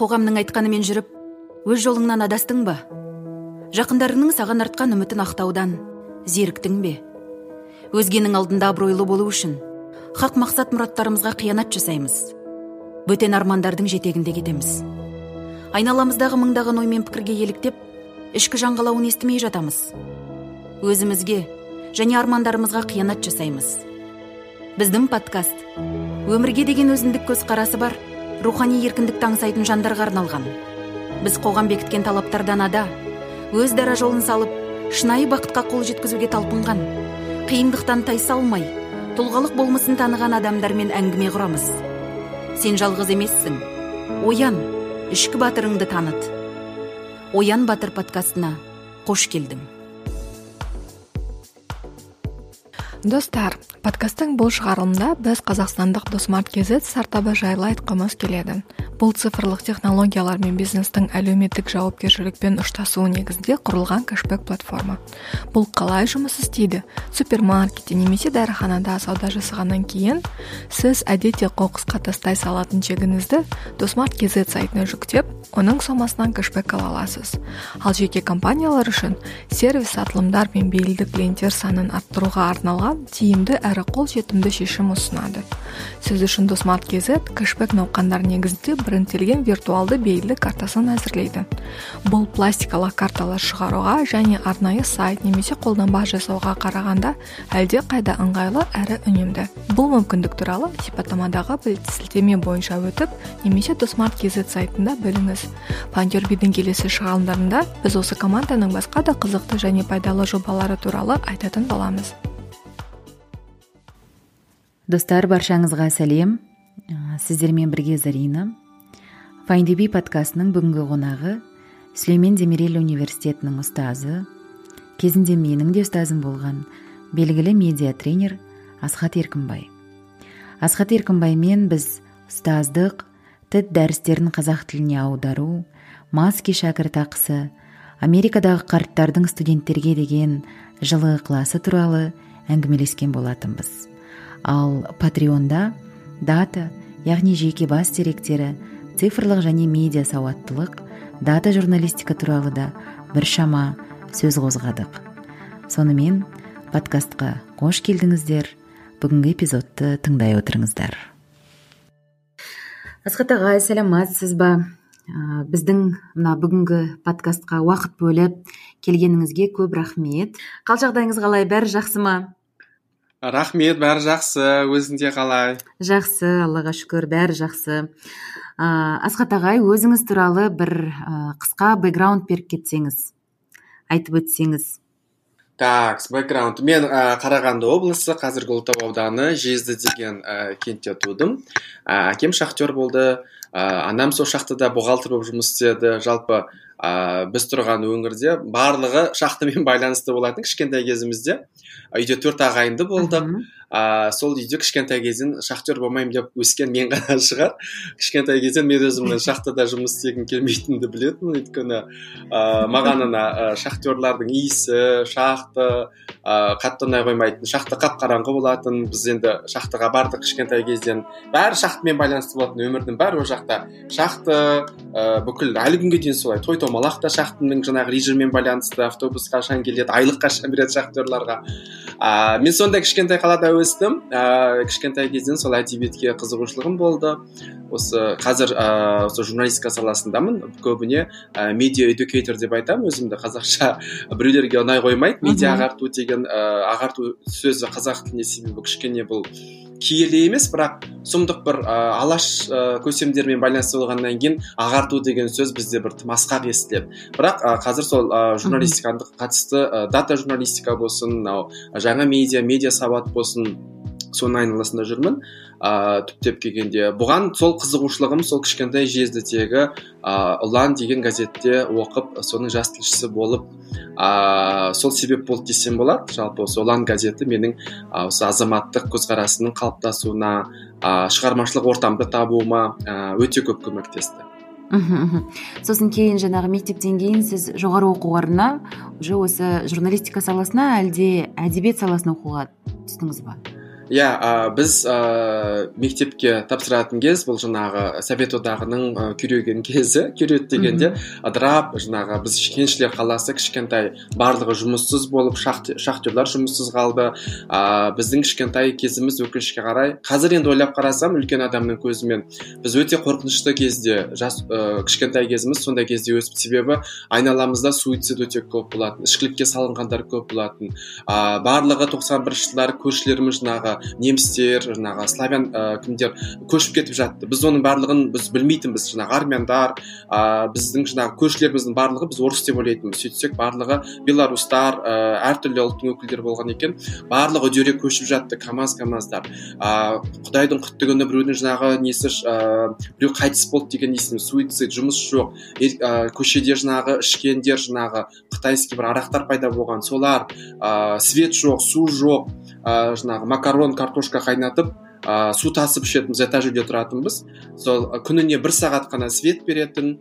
қоғамның айтқанымен жүріп, өз жолыңнан адастың ба? Жақындарыңның саған артқан үмітін ақтаудан зеріктің бе? Өзгенің алдында абыройлы болу үшін хақ мақсат мұраттарымызға қиянат жасаймыз. Бөтен армандардың жетегінде кетеміз. Айналамыздағы мыңдаған оймен пікірге еліктеп, ішкі жаңғалауын естімей жатамыз. Өзімізге және армандарымызға қиянат жасаймыз. Біздің подкаст өмірге деген өзіндік көзқарасы бар, рухани еркіндікті аңсайтын жандарға арналған. Біз қоғам бекіткен талаптардан ада, өз дара жолын салып, шынайы бақытқа қол жеткізуге талпынған, қиындықтан тайсалмай, тұлғалық болмысын таныған адамдармен әңгіме құрамыз. Сен жалғыз емессің. Оян, ішкі батырыңды таныт. Оян Батыр подкастына қош келдің. Достар, подкасттың бұл шығарылымда біз қазақстандық Досмарт.kz стартабы жайлы айтқымыз келеді. Бұл цифрлық технологиялар мен бизнестің әлеуметтік жауапкершілікпен ұштасуы негізінде құрылған кэшбэк платформа. Бұл қалай жұмыс істейді? Супермаркетте немесе дәріханада сауда жасағаннан кейін сіз әдетте қоқысқа тастай салатын чегіңізді Досмарт.kz сайтына жүктеп, оның сомасынан кэшбэк ала аласыз. Ал жеке компаниялар үшін сервис сатылымдар мен бейлді клиенттер санын арттыруға арналған тиімді әрі қолжетімді шешім ұсынады. Сіз үшін Досмарт.kz кэшбэк науқандар негізінде брендтелген виртуалды бейлі картасын әзірлейді. Бұл пластикалық карталар шығаруға және арнайы сайт немесе қолданба жасауға қарағанда әлде қайда ыңғайлы әрі үнемді. Бұл мүмкіндік туралы сипаттамадағы сілтеме бойынша өтіп, немесе Досмарт.kz сайтында біліңіз. Пандербидің келесі шығарылымдарында біз осы команданың басқа да қызықты және пайдалы жобалары туралы айтатын боламыз. Достар, баршаңызға сәлем. Сіздермен бірге Зарина. Файндюби подкастының бүгінгі қонағы Сүлеймен Демирел университетінің ұстазы, кезінде менің де ұстазым болған белгілі медиа-тренер Асхат Еркінбай. Асхат Еркінбаймен біз ұстаздық, TED дәрістерін қазақ тіліне аудару, Маски шәкіртақысы, Америкадағы қарттардың студенттерге деген жылы ықыласы туралы әңгімелескен болатынбыз. Ал Патреонда дата, яғни жеке бас деректері, цифрлық және медиа сауаттылық, дата журналистика туралы да біршама сөз қозғадық. Сонымен подкастқа қош келдіңіздер. Бүгінгі эпизодты тыңдай отырыңыздар. Асхат ағай, сәлематсыз ба? Біздің бүгінгі подкастқа уақыт бөліп келгеніңізге көп рахмет. Қал жағдайыңыз қалай? Бәрі жақсы ма? Рахмет, бәрі жақсы. Өзіңде қалай? Жақсы, Аллаға шүкір, бәрі жақсы. Асхат ағай, өзіңіз туралы бір қысқа бэкграунд беріп кетсеңіз, айтып өтсеңіз. Так, бэкграунд. Мен Қарағанды облысы, қазіргі Ұлытау ауданы Жезді деген кентте тудым. Әкем шахтер болды. Анам сол шахтада бухгалтер болып жұмыс істеді. Жалпы біз тұрған өңірде барлығы шахтамен байланысты болатын. Кішкентай кезімізде үйде 4 ағайынды болдық. Сол үйде кішкентай кезден шахтер болмаймын деп өскен мен ғана шығар. Кішкентай кезден мен өзімнің шахтада жұмыс істегім келмейтінді білетін. Өйткені маған шахтерлардың иісі, шахты қатты ұнай қоймайтын. Шахта қап-қараңғы болатын. Біз енді шахтаға бардық кішкентай кезден. Бәрі шахтамен байланысты болатын. Өмірдің бәрі о жақта. Шахты бүкіл әлі күнге дейін солай. Той томалақ та шахтаның жаңағы режиммен байланысты. Автобус қашан келеді, айлық қашан береді шахтерларға. Мен сонда кішкентай қалада өстім. Кішкентай кезден сол әдебиетке қызығушылығым болды. Осы қазір осы журналистика саласындамын. Көбіне медиа эдюкейтор деп айтамын өзімді. Қазақша біреулерге ұнай қоймайды. Медиа ағарту деген ағарту сөзі қазақ тіліне себебі кішкене бұл киелі емес, бірақ сұмдық бір алаш көсемдермен байланысты болғаннан кейін ағарту деген сөз бізде бір тым асқақ естіледі. Бірақ қазір сол журналистикаға қатысты дата журналистика болсын, жаңа медиа сауат болсын, соның айналасында жүрмін. Түптеп келгенде бұған сол қызығушылығым сол кішкентай Жездідегі ұлан деген газетте оқып, соның жас тілшісі болып, сол себеп болды десем болады. Жалпы осы ұлан газеті менің осы азаматтық көзқарасының қалыптасуына, шығармашылық ортамды табуыма өте көп көмектесті. Сосын кейін жаңағы мектептен кейін сіз жоғары оқу орнына уже осы журналистика саласына әлде әдебиет саласына оқуға түстіңіз ба? Біз мектепке тапсыратын кез бұл жаңағы совет одағының күйреген кезі. Күйреді дегенде ыдырап жаңағы біз кеншілер қаласы кішкентай, барлығы жұмыссыз болып, шахтерлар жұмыссыз қалды. Біздің кішкентай кезіміз өкінішке қарай, қазір енді ойлап қарасам үлкен адамның көзімен, біз өте қорқынышты кезде, кішкентай кезіміз сондай кезде өсіп, себебі айналамызда суицид өте көп болатын, ішкілікке салынғандар көп болатын. Барлығы 91 жылдары көршілеріміз жаңағы немістер, жаңағы славян кімдер көшіп кетіп жатты. Біз оның барлығын біз білмейтінбіз. Жаңағы армяндар, біздің жаңағы көршілеріміздің барлығы біз орыс деп ойлайтынбыз. Сөйтсек барлығы белорустар, әртүрлі ұлттың өкілдері болған екен. Барлығы үдере көшіп жатты, камаздар. Құдайдың құтты күні біреудің жаңағы несі, біреу қайтыс болды деген несін, суицид, жұмыс жоқ. Көшеде жаңағы ішкендер, жаңағы қытайский бір арақтар пайда болған. Солар, свет жоқ, су жоқ, жаңағы макарон, картошка қайнатып, су тасып ішетінбіз, этаж үйде тұратынбыз. Сол күніне 1 сағат қана свет беретін.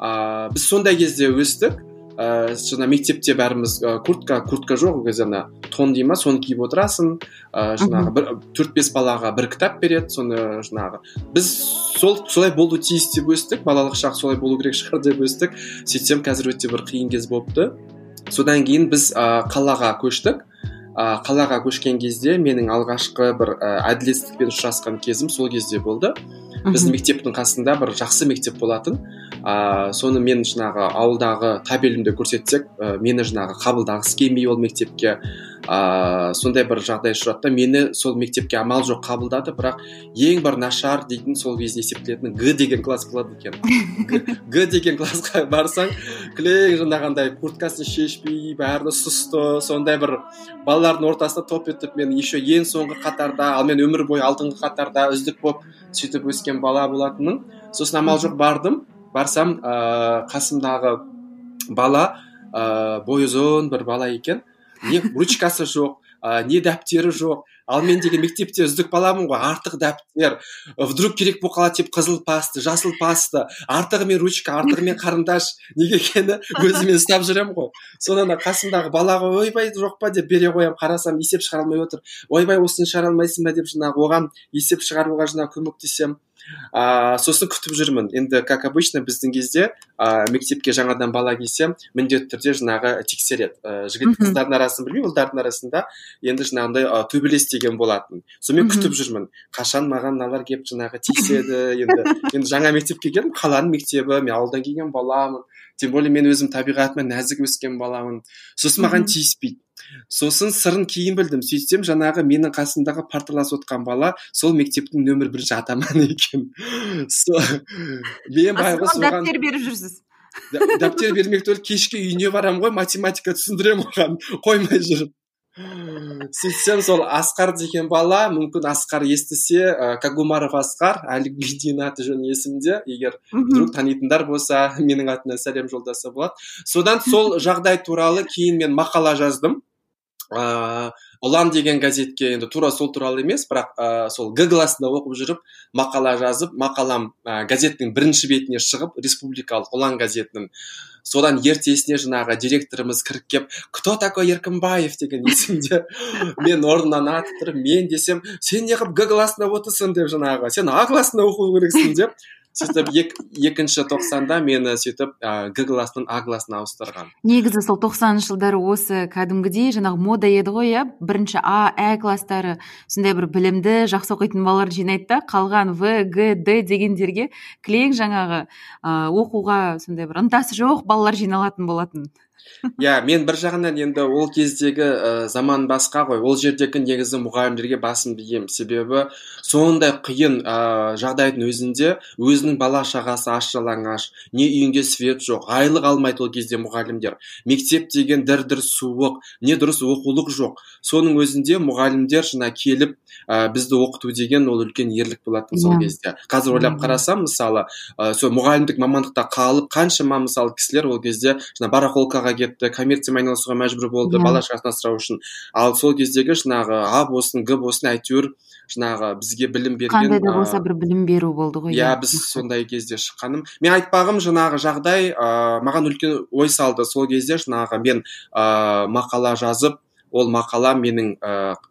Біз сондай кезде өстік. Жаңа мектепте бәріміз куртка жоқ, кезена тон дейма, соны киіп отырасың. Жаңағы 4-5 балаға бір кітап береді, соны жаңағы. Біз солай болу тиіс деп өстік, балалық шақ солай болу керек шығар деп өстік. Сөйтсем қазір өте бір қиын кез болыпты. Содан кейін біз қалаға көштік. Қалаға көшкен кезде менің алғашқы бір әділетсіздікпен ұшырасқан кезім сол кезде болды. Біздің мектептің қасында бір жақсы мектеп болатын. Соны мен жаңағы ауылдағы табелімді көрсетсек, мені жаңағы қабылдағысы келмей ол мектепке. Сондай бір жағдай ұшыратты. Мені сол мектепке амал жоқ қабылдады, бірақ ең бір нашар дейтін сол кезде есептелетін Г деген класс болады екен. Г деген классқа барсаң, кілең жаңағындай курткасын шешпей, бәрі сұсты, сондай бір балалардың ортасында топ етіп, мен еще ең соңғы қатарда, ал мен өмір бойы алдыңғы қатарда үздік болып сөйтіп өскен бала болатынмын. Сосын амал жоқ барсам, қасымдағы бала бойы ұзын бір бала екен. Не ручкасы жоқ, не дәптері жоқ. Ал мен деген мектепте үздік баламын ғой, артық дәптер, вдруг керек болып қалады деп қызыл пасты, жасыл пасты, артығымен ручка, артығымен қарындаш, неге екені өзімен ұстап жүрем ғой. Сонан қасымдағы балаға ойбай жоқ па деп бере қоям, қарасам есеп шығара алмай отыр. Ойбай осыны шығара алмайсың ба деп жаңағы оған есеп шығаруға жаңағы көмектесем. Сосын күтіп жүрмін. Енді как обычно біздің кезде мектепке жаңадан бала келсе, міндетті түрде жаңағы тексереді. Жігіт қыздардың арасын білмеймін, ұлдардың арасында енді жаңағындай төбелес деген болатын. Сонымен күтіп жүрмін. Қашан маған мыналар келіп жаңағы тиіседі. Енді жаңа мектепке келдім, қаланың мектебі, мен ауылдан келген баламын. Тем более мен өзім табиғатымен нәзік өскен баламын. Сосын маған тиіспейді. Сосын сырын кейін білдім. Сөйтсем жаңағы менің қасымдағы парталас отқан бала сол мектептің нөмір 1 атаманы екен. Мен байғыз оған дәптер беріп жүрсіз. Дәптер бермек түгіл, кешке үйіне барам ғой, математика түсіндірем оған, қоймай жүріп. Сөйтсем сол Асқар деген бала, мүмкін Асқар естісе, Кагумаров Асқар, әлі дейін аты жөні есімде, егер вдруг танитындар болса, менің атына сәлем жолдаса болады. Содан сол жағдай туралы кейін мен мақала жаздым. Ұлан деген газетке, енді тура сол туралы емес, бірақ сол Г классында оқып жүріп мақала жазып, мақалам газеттің 1-ші бетіне шығып, республикалық Ұлан газетінің. Содан ертесіне жаңағы директорымыз кіріп кеп, кто такой Еркінбаев деген есімде. Мен орнынан атып тұрып, мен десем, сен неғып Г классында отырсың деп жаңағы, сен А классында оқу керексің деп. Сөйтіп 2-ші тоқсанда мені сөйтіп Г классынан А классына ауыстырған. Негізі сол 90-шы жылдары осы кәдімгідей жаңағы мода еді ғой, 1-ші А, Ә класстары сондай бір білімді, жақсы оқитын балалар жинайды да, қалған В, Г, Д дегендерге кілең жаңағы оқуға сондай бір ынтасы жоқ балалар жиналатын болатын. Мен бір жағынан енді ол кездегі заман басқа ғой. Ол жердегі негізі мұғалімдерге басым бием. Себебі сондай қиын жағдайдың өзінде өзінің бала шағасы аш-жалаңаш, не үйінде свет жоқ, айлық алмайды ол кезде мұғалімдер. Мектеп деген дір-дір суық, не дұрыс оқулық жоқ. Соның өзінде мұғалімдер жаңа келіп бізді оқыту деген ол үлкен ерлік болатын сол кезде. Қазір ойлап қарасам, мысалы, сол мұғалімдік мамандықта қалып, қаншама мысалы кісілер ол кезде жаңа барахолкаға кетті, коммерциямен айналысуға мәжбүр болды, бала шағасын асырау үшін. Ал сол кездегі жаңағы А болсын, Г болсын, әйтеуір жаңағы бізге білім берген. Қандай да болса бір білім беру болды ғой. Біз сондай кезде шыққаным. Мен айтпағым жаңағы жағдай маған үлкен ой салды. Сол кезде жаңағы мен мақала жазып, ол мақала менің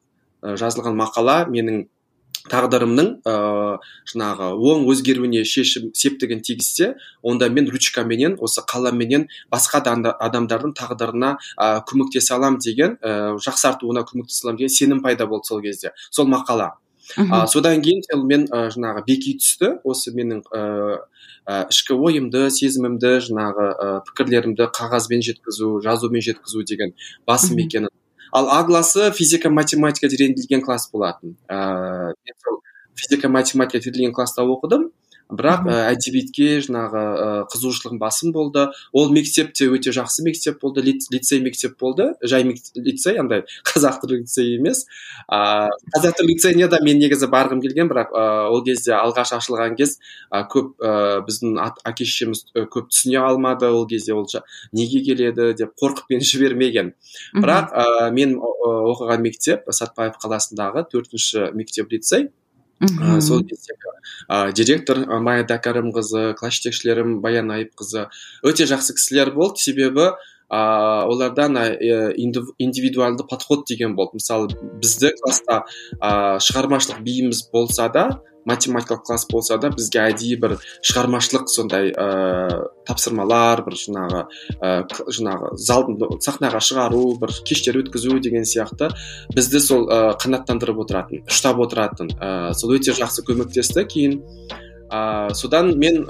жазылған мақала менің тағдырымның жаңағы оң өзгеруіне шешім септігін тигізсе, онда мен ручкаменен осы қаламменен басқа адамдардың тағдырына көмектесе аламын деген, жақсартуына көмектесе аламын деген сенім пайда болды сол кезде, сол мақала. Содан кейін мен жаңағы беки түсті осы менің ішкі ойымды, сезімімді, жаңағы пікірлерімді қағазбен жеткізу, жазумен жеткізу деген басым екенін. Ал А классы физика математика тереңдетілген класс болатын. Мен сол физика математика тереңдетілген класста оқыдым, бірақ әдебиетке жаңағы қызығушылығым басым болды. Ол мектеп те өте жақсы мектеп болды, лицей мектеп болды, жай лицей, андай қазақ тілі лицей емес. Қазақ тілі лицейіне де мен негізі барғым келген, бірақ ол кезде алғаш ашылған кез көп біздің әке-шешеміз көп түсіне алмады, ол кезде ол неге келеді деп қорқып мені жібермеген. Бірақ мен оқыған мектеп Сатпаев қаласындағы 4-ші мектеп лицей. Сол кездегі директор Майя Дәкәрімқызы, класс жетекшілерім Баян Айыпқызы өте жақсы кісілер болды, себебі олардан индивидуалды подход деген болды. Мысалы, бізді класста шығармашылық биіміз болса да, математикалық класс болса да, бізге әдейі бір шығармашылық сондай тапсырмалар, бір жаңағы сахнаға шығару, бір кештер өткізу деген сияқты бізді сол қанаттандырып отыратын, ұштап отыратын. Сол өте жақсы көмектесті. Кейін содан мен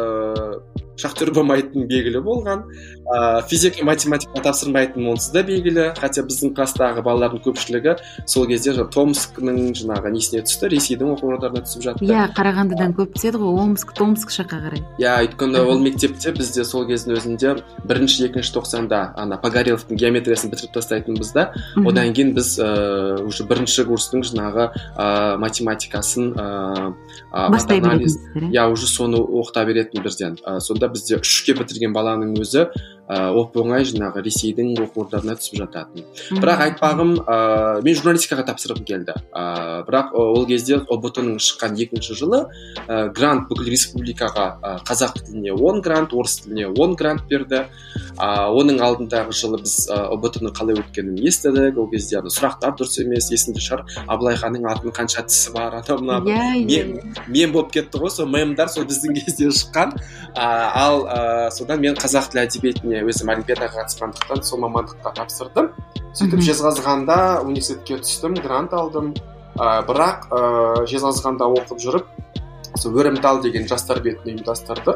шахтер болмайтын белгілі болған, физика математика тапсырмайтын онсыз да белгілі, хотя біздің класстағы балалардың көпшілігі сол кезде Томскінің жаңағы несіне түсті, Ресейдің оқу орындарына түсіп жатты. Қарағандыдан көп түседі ғой, Томск жаққа қарай. Өйткені ол мектепте бізде сол кездің өзінде 1-2 тоқсанда Погореловтың геометриясын бітіріп тастайтынбыз да, одан кейін біз уже 1-ші курстың жаңағы математикасын бастай беретінсіздер. Уже соны оқыта беретін бірден. Сонда бізде 3-ке бітірген баланың өзі оп-оңай жаңағы Ресейдің оқу орындарына түсіп жататын. Бірақ айтпағым, мен журналистикаға тапсырғым келді. Бірақ ол кезде ОБТ-ның шыққан 2-ші жылы грант бүкіл республикаға қазақ тіліне 10 грант, орыс тіліне 10 грант берді. Оның алдындағы жылы біз ОБТ-ның қалай өткенін естідік. Ол кезде сұрақтар дұрыс емес, есінде шығар, Абылай ханның атының қанша тісі бар, мен болып кетті ғой, сол мемдар сол біздің кезде шыққан. Ал содан мен қазақ тілі әдебиетіне өзім олимпиадаға қатысқандықтан сол мамандыққа тапсырдым. Сөйтіп Жезқазғанда университетке түстім, грант алдым. Бірақ Жезқазғанда оқып жүріп, Өрімтал деген жастар бетін ұйымдастырды.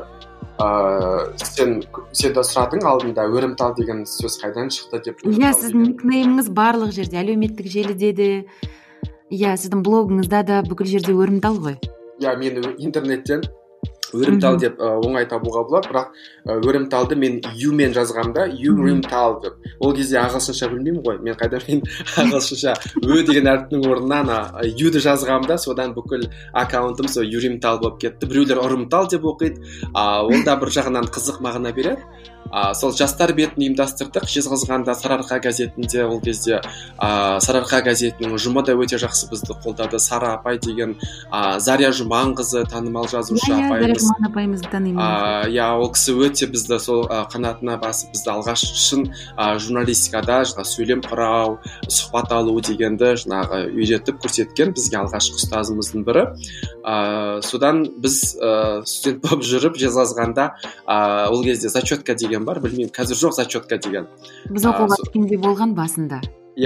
Сен де сұрадың алдында, Өрімтал деген сөз қайдан шықты деп. Сіздің никнейміңіз барлық жерде, әлеуметтік желіде де, сіздің блогыңызда да бүкіл жерде Өрімтал ғой. Мен интернеттен Өрімтал деп оңай табуға болады, бірақ Өрімталды мен юмен жазғамда Өрімтал деп. Ол кезде ағылшынша білмеймін ғой, мен ағылшынша деген әріптің орнына юді жазғамда, содан бүкіл аккаунтым сол Өрімтал болып кетті. Біреулер Ұрымтал деп оқиды, ол да бір жағынан қызық мағына береді. Сол жастар бетін ұйымдастырдық. Жезқазғанда Сарыарқа газетінде, ол кезде Сарыарқа газетінің ұжымы да өте жақсы бізді қолдады. Сара апай деген Заря Жұманқызы, танымал жазушы апайымыз. Апайымызды танимын. Ол кісі өте бізді сол қанатына басып, бізді алғаш шын журналистикада сөйлем құрау, сұхбат алу дегенді үйретіп көрсеткен бізге алғашқы ұстазымыздың бірі. Содан біз студент болып жүріп Жезқазғанда ол кезде зачетка деген бар, білмеймін, қазір жоқ зачетка деген. Біз оқуға түскенде болған басында.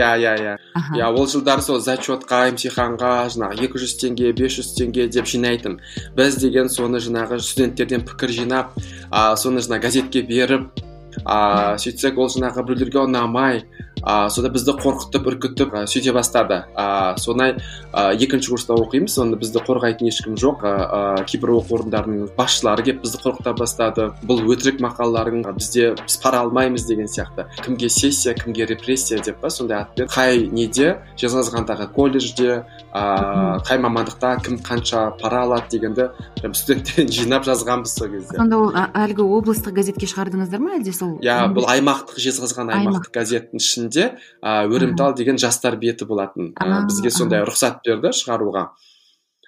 Ол жылдар сол зачетқа, емтиханға 200 теңге, 500 теңге деп жинайтын. Біз деген соны студенттерден пікір жинап, соны газетке беріп, сөйтсек ол біреулерге ұнамай, сода бізді қорқытып, үркітіп сөйте бастады. Сонай 2-ші курста оқимыз, сонда бізді қорғайтын ешкім жоқ. Кейбір оқу орындарының басшылары келіп бізді қорқыта бастады. Бұл өтірік мақалаларың, біз пара алмаймыз деген сияқты. Кімге сессия, кімге репрессия деп сондай атпен. Қай неде, Жезқазғандағы колледжде, қай мамандықта кім қанша пара алады дегенді студенттерден жинап жазғанбыз сол кезде. Сонда ол әлгі облыстық газетке шығардыңыздар ма, әлде сол? Бұл аймақтық, Жезқазған аймақтық газеттің ішінде Өрімтал деген жастар беті болатын. Бізге сондай рұқсат берді шығаруға.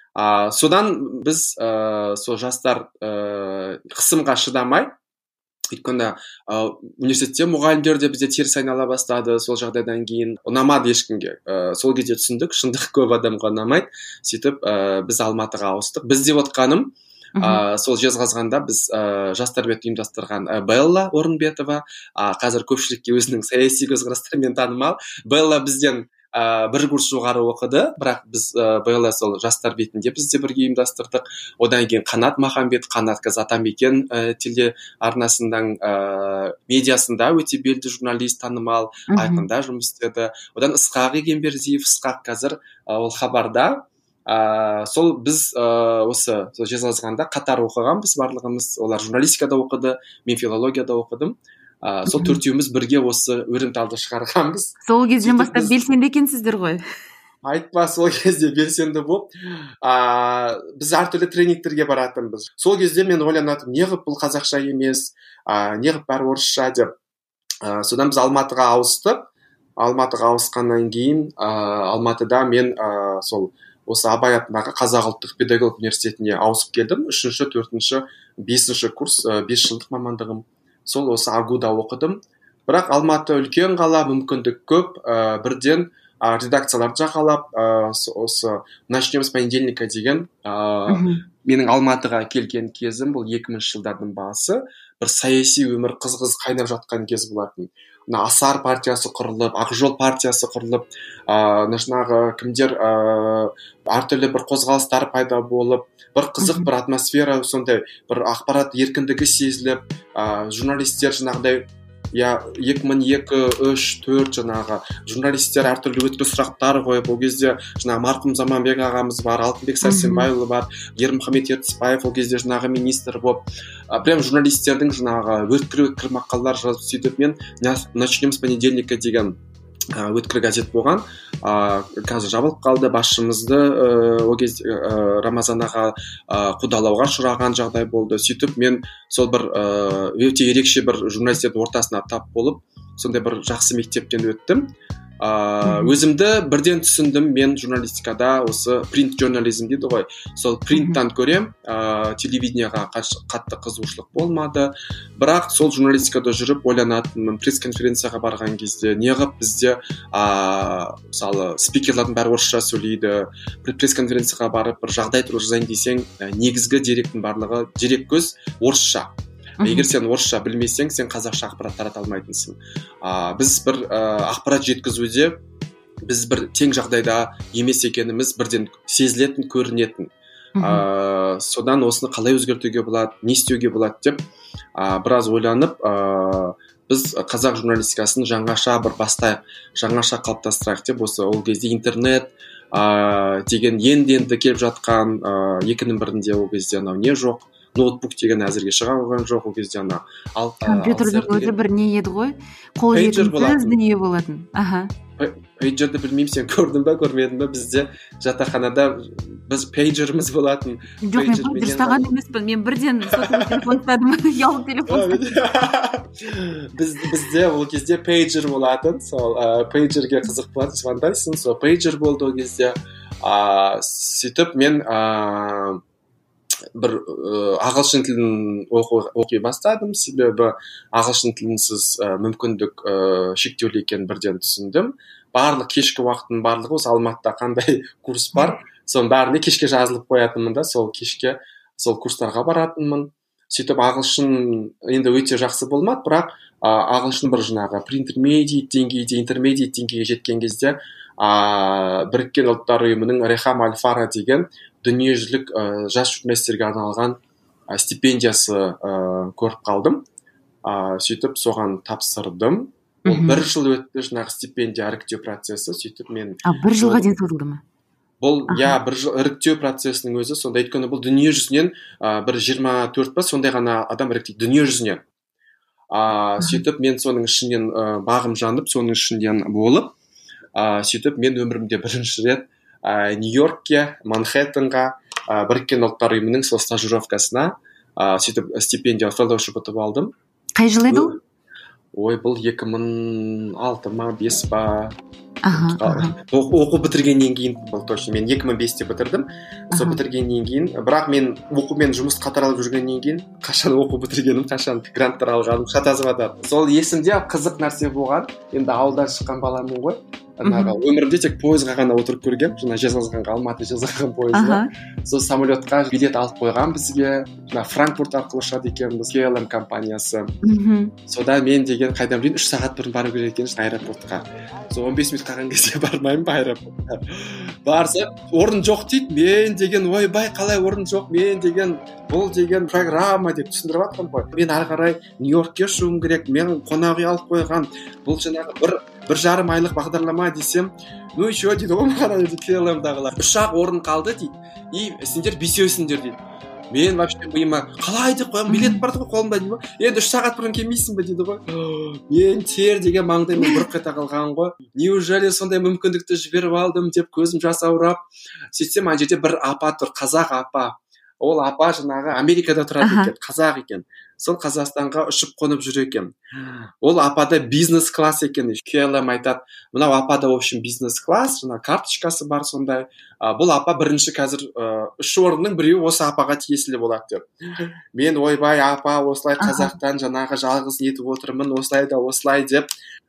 Содан біз сол жастар қысымға шыдамай өйткені университетте мұғалімдер де бізде теріс айнала бастады. Сол жағдайдан кейін ұнамады ешкімге. Сол кезде түсіндік, шындық көп адамға ұнамайды. Сөйтіп біз Алматыға ауыстық. Біз деп отқаным, сол Жезқазғанда біз жастарбет ұйымдастырған Белла Орынбетова, қазір көпшілікке өзінің саяси көзқарастарымен танымал. Белла бізден бір курс жоғары оқыды, бірақ біз Белла сол жастар бетінде бізде бірге ұйымдастырдық. Одан кейін Қанат Махамбет, Қанат қазір Атамекен теле арнасының медиасында өте белді журналист, танымал, айқында жұмыс істеді. Одан Ысқақ Егенбердиев, Ысқақ қазір ол Хабарда. Сол біз осы Жезқазғанда қатар оқығанбыз барлығымыз. Олар журналистикада оқыды, мен филологияда оқыдым. Сол төртеуміз бірге осы өрімталды шығарғанбыз. Сол кезден бастап белсенді екенсіздер ғой. Айтпа, сол кезде белсенді болып, біз әртүрлі тренингтерге баратынбыз. Сол кезде мен ойланатым, неғып бұл қазақша емес, неғып бәрі орысша деп. Содан біз Алматыға ауыстық. Алматыға ауысқаннан кейін Алматыда мен сол осы Абай атындағы Қазақ ұлттық педагог университетіне ауысып келдім. 3-ші, 4-ші, 5-ші курс, 5 жылдық мамандығым. Сол осы АГУ-да оқыдым. Бірақ Алматы үлкен қала, мүмкіндік көп. Бірден редакцияларды жағалап, осы «Начнем с понедельника» деген менің Алматыға келген кезім, бұл 2000 жылдардың басы. Бір саяси өмір қыз қайнап жатқан кез болатын. Асар партиясы құрылып, Ақжол партиясы құрылып, жаңағы кімдер әртүрлі бір қозғалыстар пайда болып, бір қызық бір атмосфера, сондай бір ақпарат еркіндігі сезіліп, журналистер жаңағыдай 2002, 3, 4 жаңағы журналистер әртүрлі өткір сұрақтар қойып, ол кезде жаңағы марқұм Заманбек ағамыз бар, Алтынбек Сәрсенбайұлы бар, Ермұхамет Ертісбаев ол кезде жаңағы министр болып, прям журналистердің жаңағы өткір мақалалар жазып сөйтіп мен «Начнем с понедельника» деген өткір газет болған. Қазір жабылып қалды. Басшымызды ол кезде Рамазан аға қудалауға ұшыраған жағдай болды. Сөйтіп мен сол бір өте ерекше бір журналистердің ортасына тап болып, сондай бір жақсы мектептен өттім. Өзімді бірден түсіндім, мен журналистикада осы принт журнализм дейді ғой, сол принттан көрем, телевидениеға қатты қызығушылық болмады. Бірақ сол журналистикада жүріп ойланатынмын, пресс-конференцияға барған кезде неғып бізде мысалы спикерлердің бәрі орысша сөйлейді, пресс-конференцияға барып бір жағдай туралы жазайын десең, негізгі деректің барлығы дерек көз орысша. Егер сен орысша білмесең, сен қазақша ақпарат тарата алмайтынсың. Біз бір ақпарат жеткізуде біз бір тең жағдайда емес екеніміз бірден сезілетін, көрінетін. Содан осыны қалай өзгертуге болады, не істеуге болады деп біраз ойланып, біз қазақ журналистикасын жаңаша бір бастайық, жаңаша қалыптастырайық деп, осы ол кезде интернет деген енді келіп жатқан, 2000 бірінде ол кезде анау не жоқ, ноутбук деген әзірге шыға қойған жоқ, ол кезде компьютердің өзі бір не еді ғой, қол жетімсіз дүние болатын. Пейджерді білмеймін, сен көрдің ба, көрмедің ба? Бізде жатақханада біз пейджеріміз болатын. Жоқ, мен пейджер ұстаған емеспін, мен бірден сотовый телефон ұстадым, ұялы телефон. Бізде ол кезде пейджер болатын, сол пейджерге қызық болатын, звондайсың, сол пейджер болды ол кезде. Сөйтіп мен бір ағылшын тілін оқи бастадым, себебі ағылшын тілінсіз мүмкіндік шектеулі екенін бірден түсіндім. Барлық кешкі уақыттың барлығы осы Алматыда қандай курс бар, соның бәріне кешке жазылып қоятынмын да, сол кешке сол курстарға баратынмын. Сөйтіп ағылшын енді өте жақсы болмады, бірақ ағылшын бір жаңағы pre-intermediate деңгейде, intermediate деңгейге жеткен кезде Біріккен ұлттар ұйымының Рехам Аль-Фара деген дүниежүзілік жас журналистерге арналған стипендиясы көріп қалдым. Сөйтіп соған тапсырдым. Ол 1 жыл өтті жаңағы стипендия іріктеу процесі. Сөйтіп мен 1 жылға дейін созылды ма? Бұл 1 жыл іріктеу процесінің өзі сонда, өйткені бұл дүние жүзінен бір 24 па сондай ғана адам іріктейді дүние жүзінен. Сөйтіп мен соның ішінен бағым жанып, соның ішінен болып, сөйтіп мен өмірімде бірінші рет Нью-Йоркке, Манхэттенға, Біріккен ұлттар ұйымының сол стажировкасына сөйтіп стипендия фellowship ұтып алдым. Қай жыл еді ол? Ой, бұл 2006 ма, 5 па. оқу бітіргеннен кейін бұл точно мен 2005-те бітірдім. Сол бітіргеннен кейін, бірақ мен оқумен жұмыс қатар алып жүргеннен кейін қашан оқу бітіргенім, қашан гранттар алғаным шатасыватыр. Сол есімде қызық нәрсе болған. Енді ауылдан шыққан баламын ғой. Өмірімде тек пойызға ғана отырып көргем, жаңа Жезқазғанға, Алматы Жезқазған пойызына. Сол самолетқа билет алып қойған бізге. Жаңа Франкфурт арқылы ұшады екенбіз, KLM компаниясы. Содан мен деген қайдан білейін 3 сағат бұрын бару керек екен аэропортқа. Сол 15 минут қалған кезде бармаймын ба аэропортқа. Барса, орын жоқ дейді. Мен деген ойбай, қалай орын жоқ? Мен деген бұл деген программа деп түсіндіріп жатырмын ғой. Мен ары қарай Нью-Йоркке ұшуым керек. Мен қонақ үй алып қойған. Бұл жаңағы бір жарым айлық бағдарлама десем, ну еще дейді ғой маған KLM-дағылар. Ұшақ орын қалды дейді. И сендер бесеусіңдер дейді. Мен вообще миыма қалай деп қоямын, билет бар ғой қолымда дейді ғой. Енді 3 сағат бұрын келмейсің ба дейді ғой. Мен тер деген маңдайым бұрқ ете қалған ғой. Неужели сондай мүмкіндікті жіберіп алдым деп көзім жасаурап. Сөйтсем ана жерде бір апа тұр, қазақ апа. Ол апа жаңағы Америкада тұрады екен, қазақ екен. Сол Қазақстанға ұшып қонып жүр екен. Ол апада бизнес класс екен. KLM айтады, мынау апада в общем бизнес класс, жаңа карточкасы бар сондай. Бұл апа бірінші қазір 3 орынның біреуі осы апаға тиесілі болады деп. Мен ойбай апа осылай қазақтан жаңағы жалғыз нетіп отырмын, осылай да осылай деп.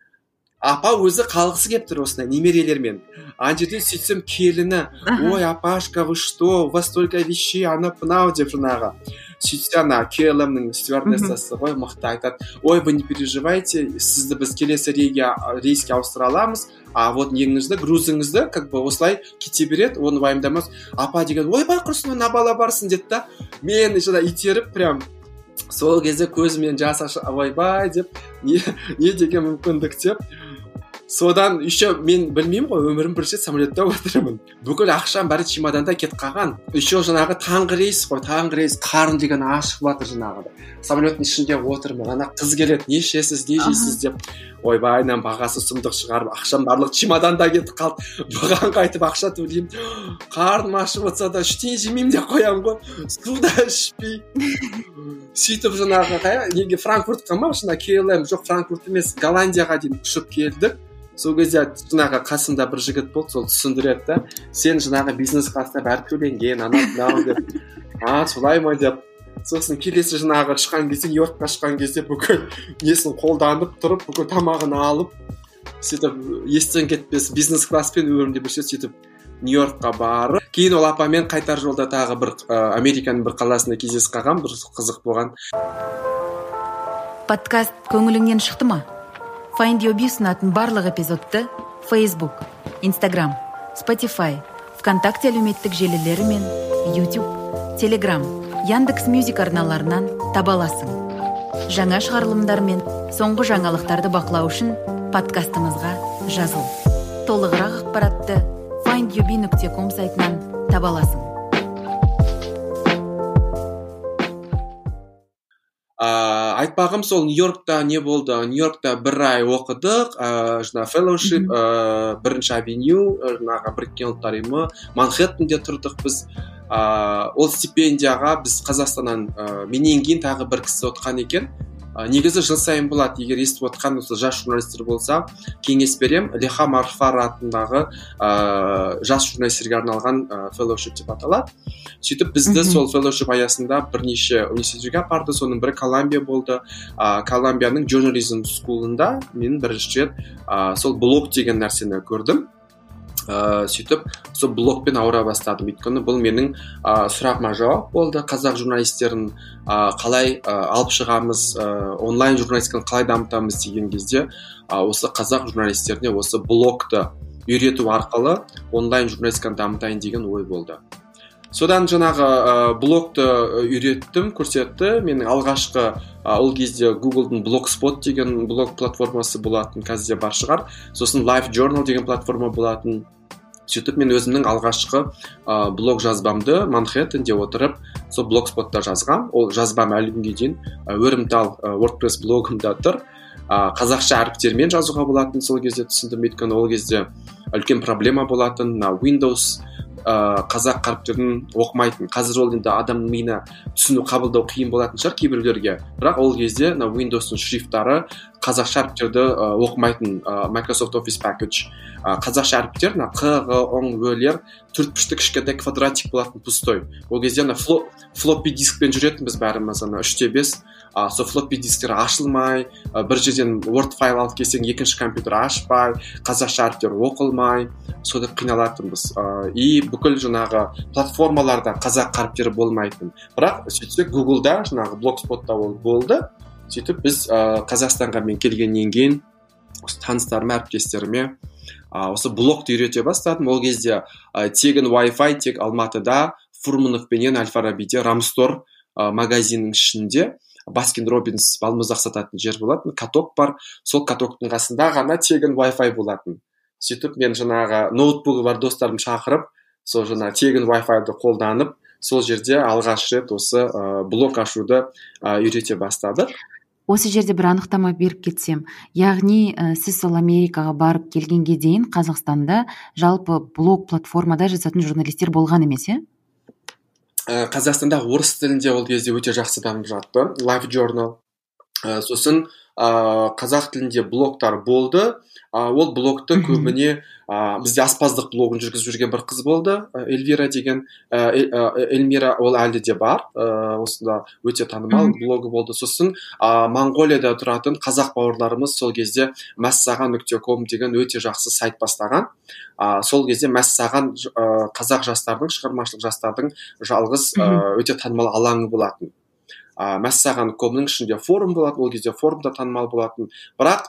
Апа өзі қалғысы келіп тұр осындай немерелермен. Ана жерде сөйтсем келіні, ой апашка, вы что, у вас столько вещей, анау деп жаңағы. Сөйтсе ана KLM-нің стюардессасы ғой мықты айтады, ой, вы не переживайте, сізді біз келесі рейске ауыстыра аламыз, а вот неңізді, грузыңызды как бы осылай кете береді, оны уайымдамас. Апа деген, ойбай құрсын, мына бала барсын деді да, мен жаңа итеріп прям сол кезде көзімнен жас ашып, ойбай деп, не деген мүмкіндік деп. Содан еще мен білмеймін ғой, өмірім бірінші самолетта отырмын. Бүкіл ақшам бәрі чемоданда кетіп қалған. Еще жаңағы таңғы рейс қой, таңғы рейс, қарын деген ашып жатыр жаңағы. Самолеттің ішінде отырмын. Ана қыз келеді, не ішесіз, не жейсіз деп. Ойбайнан бағасы сұмдық шығарып, ақшам барлық чемоданда кетіп қалды. Бұған қайтып ақша төлеймін. Қарным ашып отырса да ештеңе жемеймін деп қоямын ғой. Су да ішпей. Сөйтіп жаңағы неге Франкфуртқа ма, шына KLM жоқ, Франкфурт емес, Голландияға дейін ұшып келдік. Сол кезде жаңағы қасымда бір жігіт болды, сол түсіндіреді да, сен жаңағы бизнес класста бәрі төленген, анау деп. Солай ма деп. Сосын келесі жаңағы шыққан кезде, Нью-Йоркқа шыққан кезде бүкіл несін қолданып тұрып, бүкіл тамағын алып, сөйтіп естен кетпес бизнес класспен өмірімде бір сөйтіп Нью-Йоркқа барып, кейін ол апамен қайтар жолда тағы бір Американың бір қаласында кездесіп қалған, бір қызық болған. Подкаст көңіліңнен шықты ма? Find Your Bee ұсынатын барлық эпизодты Facebook, Instagram, Spotify, ВКонтакте әлеуметтік желілері мен YouTube, Telegram, Яндекс.Мюзик арналарынан таба аласың. Жаңа шығарылымдар мен соңғы жаңалықтарды бақылау үшін подкастымызға жазыл. Толығырақ ақпаратты findyourbee.com сайтынан таба аласың. Айтпағым сол Нью-Йоркта не болды? Нью-Йоркта 1 ай оқыдық, жаңа fellowship, бірінші авеню, жаңағы Біріккен ұлттар ұйымы, Манхэттенде тұрдық біз. Ол стипендияға біз Қазақстаннан менен кейін тағы бір кісі отқан екен. Негізі жыл сайын болады, егер естіп отқан осы жас журналистер болса, кеңес берем. Леха Марфар атындағы жас журналистерге арналған fellowship деп аталады. Сөйтіп бізді сол fellowship аясында бірнеше университетке апарды, соның бірі Колумбия болды. Колумбияның journalism school'ында мен бірінші рет сол блог деген нәрсені көрдім. Сөйтіп сол блогпен ауыра бастадым. Өйткені бұл менің сұрағыма жауап болды. Қазақ журналистерін қалай алып шығамыз, онлайн журналистиканы қалай дамытамыз деген кезде осы қазақ журналистеріне осы блогты үйрету арқылы онлайн журналистиканы дамытайын деген ой болды. Содан жаңағы блогты үйреттім, көрсетті. Менің алғашқы ол кезде Google'дың Blogspot деген блог платформасы болатын, қазір бар шығар. Сосын Live Journal деген платформа болатын. Сөйтіп мен өзімнің алғашқы блог жазбамды Манхэттенде отырып, сол Blogspot'та жазғам. Ол жазбам әлі күнге дейін өрімтал WordPress блогымда тұр. Қазақша әріптермен жазуға болатын, сол кезде түсіндім. Өйткені ол кезде үлкен проблема болатын, Windows қазақ қаріптерін оқымайтын. Қазір ол енді адамның миына түсіну, қабылдау қиын болатын шығар кейбіреулерге. Бірақ ол кезде Windows-ның шрифттары қазақша әріптерді оқымайтын Microsoft Office Package қазақша әріптер q г оң өлер төртбұрышты кішкентай квадратик болатын пустой. Ол кезде флоппи дискпен жүретінбіз бәріміз 3/5 сол флоппи дисктер ашылмай, бір жерден Word файл алып келсең екінші компьютер ашпай, қазақша әріптер оқылмай, сода қиналатынбыз. И бүкіл жаңағы платформаларда қазақ әріптері болмайтын. Бірақ сөйтсек Google'да жаңағы Blogspot'та ол болды. Сөйтіп біз Қазақстанға мен келгеннен кейін таныстарыма, әріптестеріме осы блогты үйрете бастадым. Ол кезде тегін Wi-Fi тек Алматыда, Фурмановпенен Әл-Фарабиде, Рамстор магазинінің ішінде Баскин Робинс балмұздақ сататын жер болатын, каток бар. Сол катоктың қасында ғана тегін Wi-Fi болатын. Сөйтіп мен жаңағы ноутбугі бар достарым шақырып, сол жаңа тегін Wi-Fi-ды қолданып, сол жерде алғаш рет осы блог ашуды үйрете бастадық. Осы жерде бір анықтама беріп кетсем, яғни сіз сол Америкаға барып келгенге дейін Қазақстанда жалпы блог платформада жазатын журналистер болған емес, е? Қазақстанда орыс тілінде ол кезде өте жақсы дамып жатты. Live Journal. Сосын қазақ тілінде блогтар болды. Ол блогты көбіне бізде аспаздық блогын жүргізіп жүрген бір қыз болды, Эльвира деген. Эльмира ол әлі де бар. Осында өте танымал блогы болды. Сосын Моңғолияда тұратын қазақ бауырларымыз сол кезде massаған.com деген өте жақсы сайт бастаған. Сол кезде Мәссаған қазақ жастардың, шығармашылық жастардың жалғыз өте танымал алаңы болатын. Мәссаған.комның ішінде форум болатын, ол кезде форумда танымал болатын. Бірақ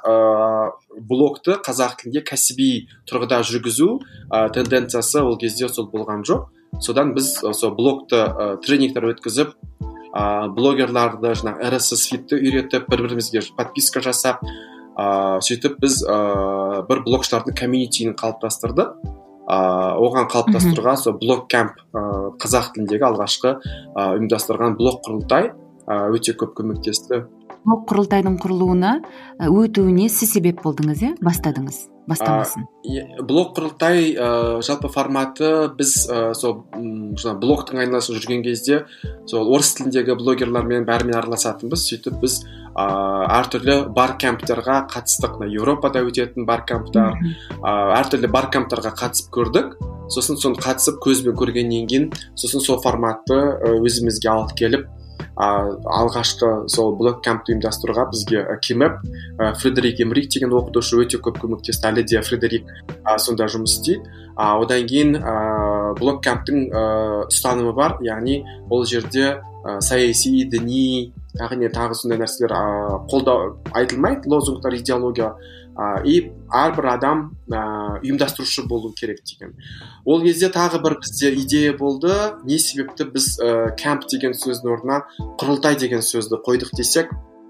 блогты қазақ тілінде кәсіби тұрғыда жүргізу тенденциясы ол кезде сол болған жоқ. Содан біз сол блогты тренингтер өткізіп, блогерларды RSS фидті үйретіп, бір-бірімізге подписка жасап, сөйтіп біз бір блогшылардың комьюнитиін қалыптастырдық. Оған қалыптастыруға сол блог кэмп қазақ тіліндегі алғашқы ұйымдастырған блог құрылтай өте көп көмектесті. Блог құрылтайдың құрылуына өтуіне сіз себеп болдыңыз, е? Бастамасын. Блог құрылтай жалпы форматы біз сол блогтың айналасында жүрген кезде сол орыс тіліндегі блогерлармен бәрімен араласатынбыз. Сөйтіп біз әртүрлі баркэмптерға қатыстық. Европада өтетін баркэмптер, әртүрлі баркэмптерға қатысып көрдік. Сосын соны қатысып көзбен көргеннен кейін, сосын сол форматты өзімізге алып келіп, алғашқы сол блог кэмпті ұйымдастыруға бізге Кимеп, Фредерик Эмрик деген оқытушы өте көп көмектесті. Әлі де Фредерик сонда жұмыс істейді. Одан кейін блог кэмптің ұстанымы бар, яғни ол жерде саяси, діни, тағы сондай нәрселер қолдау айтылмайды, лозунгтар, идеология. И әрбір адам ұйымдастырушы болу керек деген. Ол кезде тағы бір бізде идея болды. Не себепті біз кэмп деген сөздің орнына құрылтай деген сөзді қойдық десек,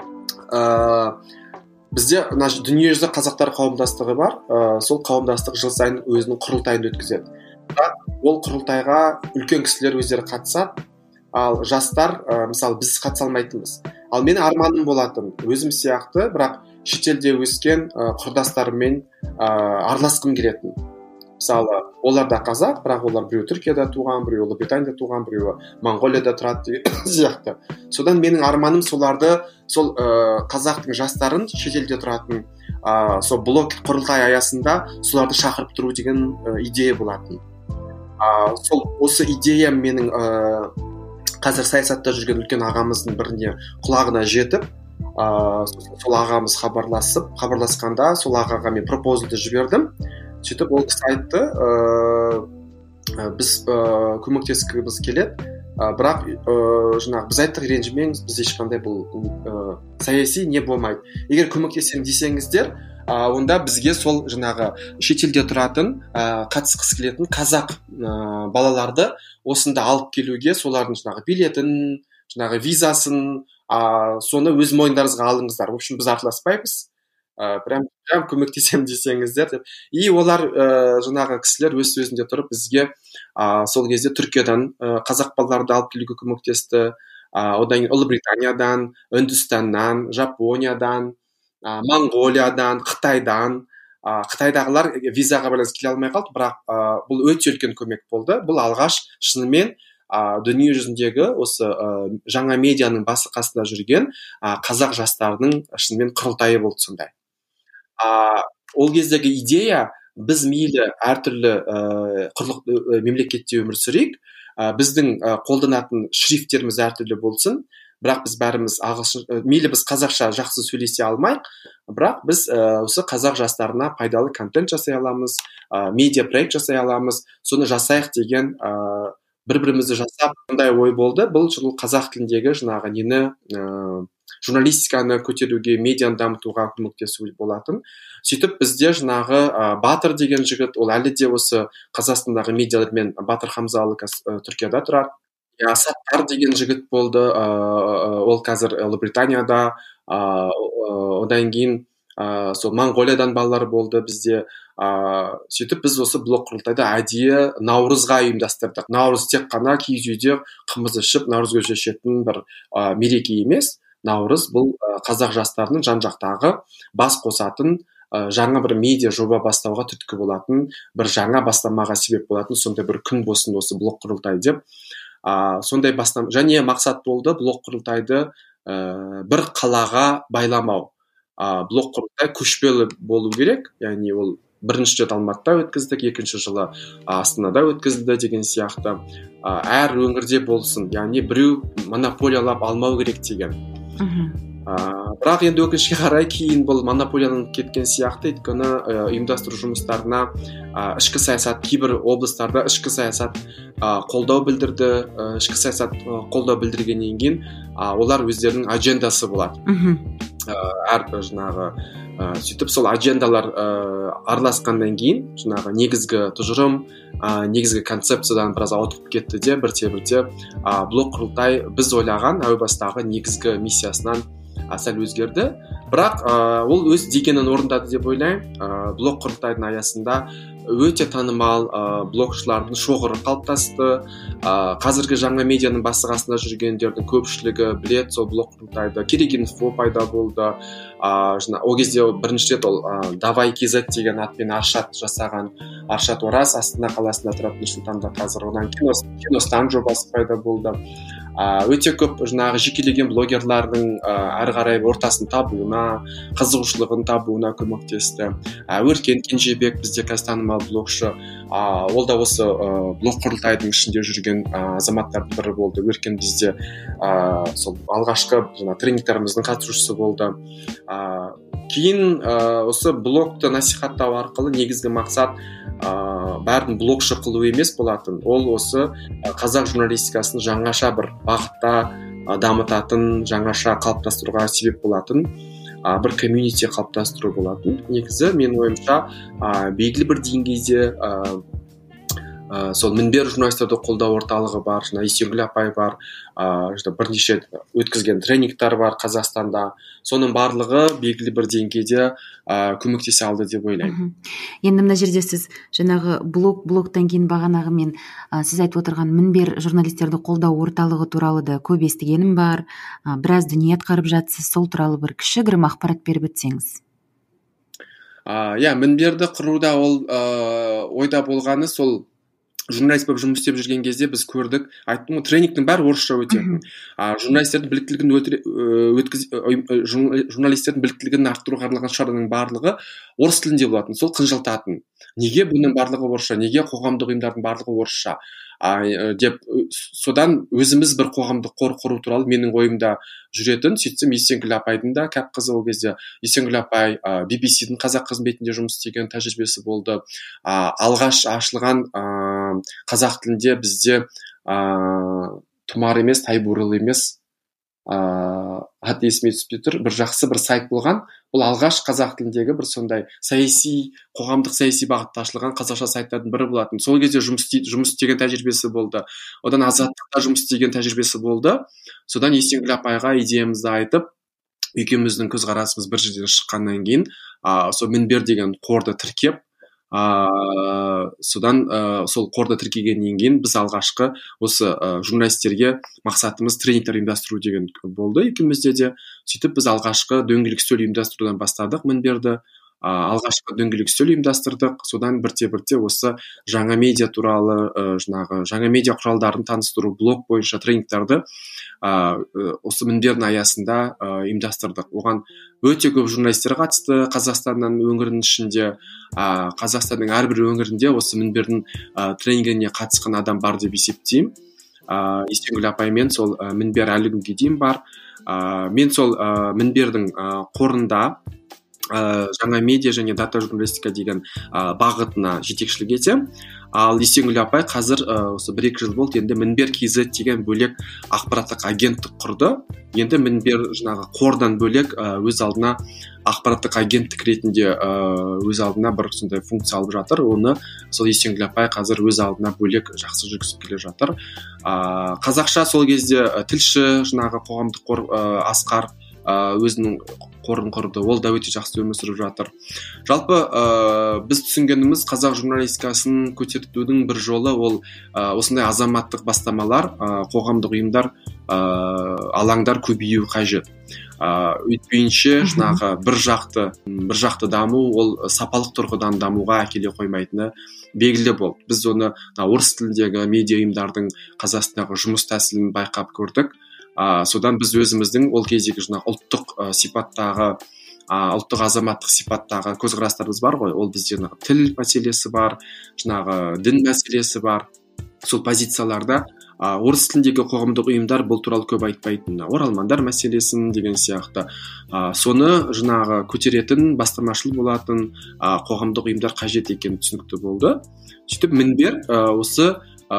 бізде дүниежүзі қазақтар қауымдастығы бар. Сол қауымдастық жыл сайын өзінің құрылтайын өткізеді. Ол құрылтайға үлкен кісілер өздері қатысады, ал жастар мысалы біз қатыса алмайтынбыз. Ал менің арманым болатын, өзім сияқты, бірақ шетелде өскен құрдастарыммен араласқым келетін. Мысалы, олар да қазақ, бірақ олар біреу Түркияда туған, біреу Ұлыбританияда туған, біреу Моңғолияда тұрады деген сияқты. Содан менің арманым соларды, сол қазақтың жастарын шетелде тұратын сол блог құрылтай аясында соларды шақырып тұру деген идея болатын. Сол осы идея менің қазір саясатта жүрген үлкен ағамыздың біріне құлағына жетіп, сол ағамыз хабарласқанда сол ағаға мен пропозалды жібердім. Сөйтіп ол кісі айтты, біз көмектескіміз келеді, бірақ біз айттық, ренжімеңіз, біз ешқандай бұл саяси не болмайды. Егер көмектесем десеңіздер, онда бізге сол шетелде тұратын, қатысқысы келетін қазақ балаларды осында алып келуге, солардың билетін, визасын, соны өз мойындарыңызға алыңыздар. В общем, біз араласпаймыз. Прям көмектесем десеңіздер деп. И олар кісілер өз сөзінде тұрып бізге сол кезде Түркиядан қазақ балаларды алып келуге көмектесті. Одан кейін Ұлыбританиядан, Үндістаннан, Жапониядан, Моңғолиядан, Қытайдан. Қытайдағылар визаға байланысты келе алмай қалды, бірақ бұл өте үлкен көмек болды. Бұл алғаш шынымен дүние жүзіндегі осы жаңа медианың басы қасында жүрген қазақ жастарының шынымен құрылтайы болды сондай. Ол кездегі идея, біз мейлі әртүрлі мемлекетте өмір сүрейік, біздің қолданатын шрифттеріміз әртүрлі болсын, бірақ біз бәріміз мейлі біз қазақша жақсы сөйлесе алмайық, бірақ біз осы қазақ жастарына пайдалы контент жасай аламыз, медиа проект жасай аламыз, соны жасайық деген бір-бірімізді жасап сондай ой болды. Бұл жылы қазақ тіліндегі жаңағы нені журналистиканы көтеруге, медианы дамытуға көмектесу болатын. Сөйтіп бізде жаңағы Батыр деген жігіт, ол әлі де осы Қазақстандағы медиалармен, Батыр Хамзалы Түркияда тұрады. Саттар деген жігіт болды, ол қазір Ұлыбританияда. Одан кейін сол Моңғолиядан балалар болды бізде. Сөйтіп біз осы блог құрылтайды әдейі Наурызға ұйымдастырдық. Наурыз тек қана киіз үйде қымыз ішіп, наурыз көже ішетін бір мереке емес. Наурыз бұл қазақ жастарының жан-жақтағы бас қосатын, жаңа бір медиа жоба бастауға түрткі болатын, бір жаңа бастамаға себеп болатын сондай бір күн болсын осы блог құрылтай деп. Сондай және мақсат болды блог құрылтайды бір қалаға байламау. Блог құрылтай көшпелі болу керек, яғни ол бірінші рет Алматыда өткіздік, екінші жылы Астанада өткізілді деген сияқты. Әр өңірде болсын, яғни біреу монополиялап алмау керек деген. Бірақ енді өкінішке қарай кейін бұл монополияның кеткен сияқты, өйткені ұйымдастыру жұмыстарына ішкі саясат, кейбір облыстарда ішкі саясат қолдау білдірді. Ішкі саясат қолдау білдіргеннен кейін олар өздерінің аджендасы болады. Әрбір жаңағы сөйтіп сол аджендалар араласқаннан кейін жаңағы негізгі тұжырым, негізгі концепциядан біраз ауытқып кетті де бірте-бірте блог құрылтай біз ойлаған әу бастағы негізгі миссиясынан сәл өзгерді. Бірақ ол өз дегенін орындады деп ойлаймын. Блог құрылтайдың аясында өте танымал блогшылардың шоғыры қалыптасты. Қазіргі жаңа медианың басы қасында жүргендердің көпшілігі білет сол блог құрылтайды. Керек-инфо пайда болды. Ол кезде бірінші рет ол Давай КЗ деген атпен Аршат жасаған. Аршат Ораз Астана қаласында тұратын Нұрсұлтанда қазір. Одан Киностан жобасы пайда болды. Өте көп жаңағы жекелеген блогерлардың әрі қарай ортасын табуына, қызығушылығын табуына көмектесті. Өркен Кенжебек бізде қазір танымал блогшы. Ол да осы блог құрылтайдың ішінде жүрген азаматтардың бірі болды. Өркен бізде сол алғашқы тренингтеріміздің қатысушысы болды. Кейін осы блогты насихаттау арқылы негізгі мақсат бәрін блогшы қылу емес болатын. Ол осы қазақ журналистикасын жаңаша бір бағытта дамытатын, жаңаша қалыптастыруға себеп болатын бір комьюнити қалыптастыру болатын. Негізі мен ойымша белгілі бір деңгейде сол Мінбер журналистерді қолдау орталығы бар, Есенгүл апай бар, бірнеше өткізген тренингтар бар Қазақстанда. Соның барлығы белгілі бір деңгейде көмектесе алды деп ойлаймын. Енді мына жерде сіз жаңағы блогтан кейін бағанағы мен сіз айтып отырған Мінбер журналистерді қолдау орталығы туралы да көп естігенім бар. Біраз дүние атқарып жатсыз, сол туралы бір кішігірім ақпарат беріп өтсеңіз. Мінберді құруда ол ойда болғаны сол журналист болып жұмыс істеп жүрген кезде біз көрдік, айттым, тренингтің бәрі орысша өтетін. Журналистердің біліктілігін арттыруға арналған шараның барлығы орыс тілінде болатын, сол қынжылтатын. Неге бұның барлығы орысша, неге қоғамдық ұйымдардың барлығы орысша деп, содан өзіміз бір қоғамдық қор құру туралы менің ойымда жүретін. Сөйтсем Есенгүл апайдың да кәп қызы, ол кезде Есенгүл апай BBC-дің қазақ қызметінде жұмыс істеген тәжірибесі болды. Алғаш ашылған қазақ тілінде бізде тұмар емес, тайбурыл емес, аты есіме түспей тұр, бір жақсы бір сайт болған. Бұл алғаш қазақ тіліндегі бір сондай қоғамдық саяси бағытта ашылған қазақша сайттардың бірі болатын. Сол кезде жұмыс істеген тәжірибесі болды. Одан Азаттықта жұмыс істеген тәжірибесі болды. Содан Есенгүл апайға идеямызды айтып, екеуміздің көзқарасымыз бір жерден шыққаннан кейін, сол Мінбер деген қорды тіркеп, содан сол қорды тіркегеннен кейін біз алғашқы осы журналистерге мақсатымыз тренингтер ұйымдастыру деген болды екеумізде де. Сөйтіп біз алғашқы дөңгелек үстел ұйымдастырудан бастадық Мінберді. алғашқы дөңгелек үстел ұйымдастырдық. Содан бірте осы жаңа медиа туралы жаңа медиа құралдарын таныстыру, блог бойынша тренингтарды осы мінбердің аясында ұйымдастырдық. Оған өте көп журналистер қатысты. Қазақстанның өңірінің ішінде, Қазақстанның әрбір өңірінде осы мінбердің тренингіне қатысқан адам бар деп есептеймін. Есенгүл апаймен сол мінбер әлі күнге дейін бар. Мен сол мінбердің қорында жаңа медиа және дата журналистика деген бағытына жетекшілік етемін. Ал Есенгүл апай қазір осы 1-2 жыл болды, енді мінбер KZ деген бөлек ақпараттық агенттік құрды. Енді мінбер жаңағы қордан бөлек өз алдына ақпараттық агенттік ретінде өз алдына бір сондай функция алып жатыр. Оны сол Есенгүл апай қазір өз алдына бөлек жақсы жүргізіп келе жатыр. Қазақша сол кезде тілші жаңағы қоғамдық қор Асқар өзінің қорын құрды. Ол да өте жақсы өмір сүріп жатыр. Жалпы біз түсінгеніміз қазақ журналистикасын көтерудің бір жолы ол осындай азаматтық бастамалар, қоғамдық ұйымдар, алаңдар көбею қажет. Өйтпейінше жаңағы бір жақты даму ол сапалық тұрғыдан дамуға әкеле қоймайтыны белгілі болды. Біз оны орыс тіліндегі медиа ұйымдардың Қазақстандағы жұмыс тәсілін байқап көрдік. Содан біз өзіміздің ол кездегі ұлттық сипаттағы, ұлттық азаматтық сипаттағы көзқарастарымыз бар ғой. Ол бізде тіл мәселесі бар, дін мәселесі бар. Сол позицияларда орыс тіліндегі қоғамдық ұйымдар бұл туралы көп айтпайтын. Оралмандар мәселесін деген сияқты. Соны көтеретін, бастамашыл болатын қоғамдық ұйымдар қажет екені түсінікті болды. Сөйтіп мінбер осы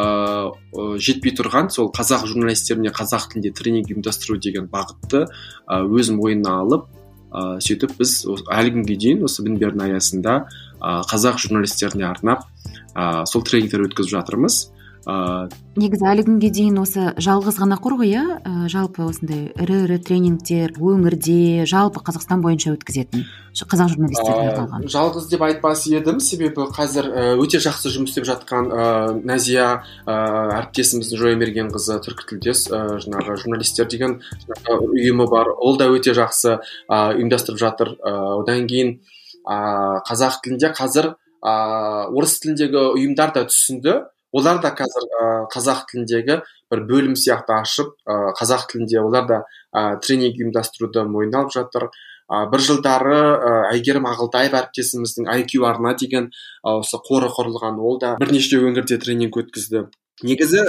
жетпей тұрған сол қазақ журналистеріне қазақ тілінде тренинг ұйымдастыру деген бағытты өз мойнына алып, сөйтіп біз әлі күнге дейін осы мінбердің аясында қазақ журналистеріне арнап сол тренингтер өткізіп жатырмыз. Негізі әлі күнге дейін осы жалғыз ғана қор ғой, жалпы осындай ірі тренингтер өңірде жалпы Қазақстан бойынша өткізетін қазақ журналистеріне арналған. Жалғыз деп айтпас едім, себебі қазір өте жақсы жұмыс істеп жатқан Назия әріптесіміздің Жоймергенқызы түркітілдес журналистер деген ұйымы бар. Ол да өте жақсы ұйымдастырып жатыр. Одан кейін қазақ тілінде қазір орыс тіліндегі ұйымдар да түсінді. Олар да қазір қазақ тіліндегі бір бөлім сияқты ашып, қазақ тілінде олар да тренинг ұйымдастыруды мойнына алып жатыр. Бір жылдары Әйгерім Ағылтаев әріптесіміздің IQ арна деген осы қоры құрылған. Ол да бірнеше өңірде тренинг өткізді. Негізі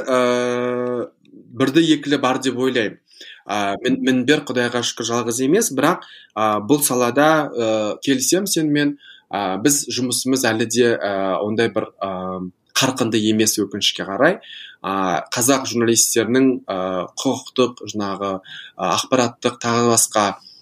бірді екілі бар деп ойлаймын. Мінбер Құдайға шүкір жалғыз емес, бірақ бұл салада келісем сенімен, біз жұмысымыз әлі де ондай бір қарқынды емес өкінішке қарай. Қазақ журналистерінің құқықтық, ақпараттық тағы басқа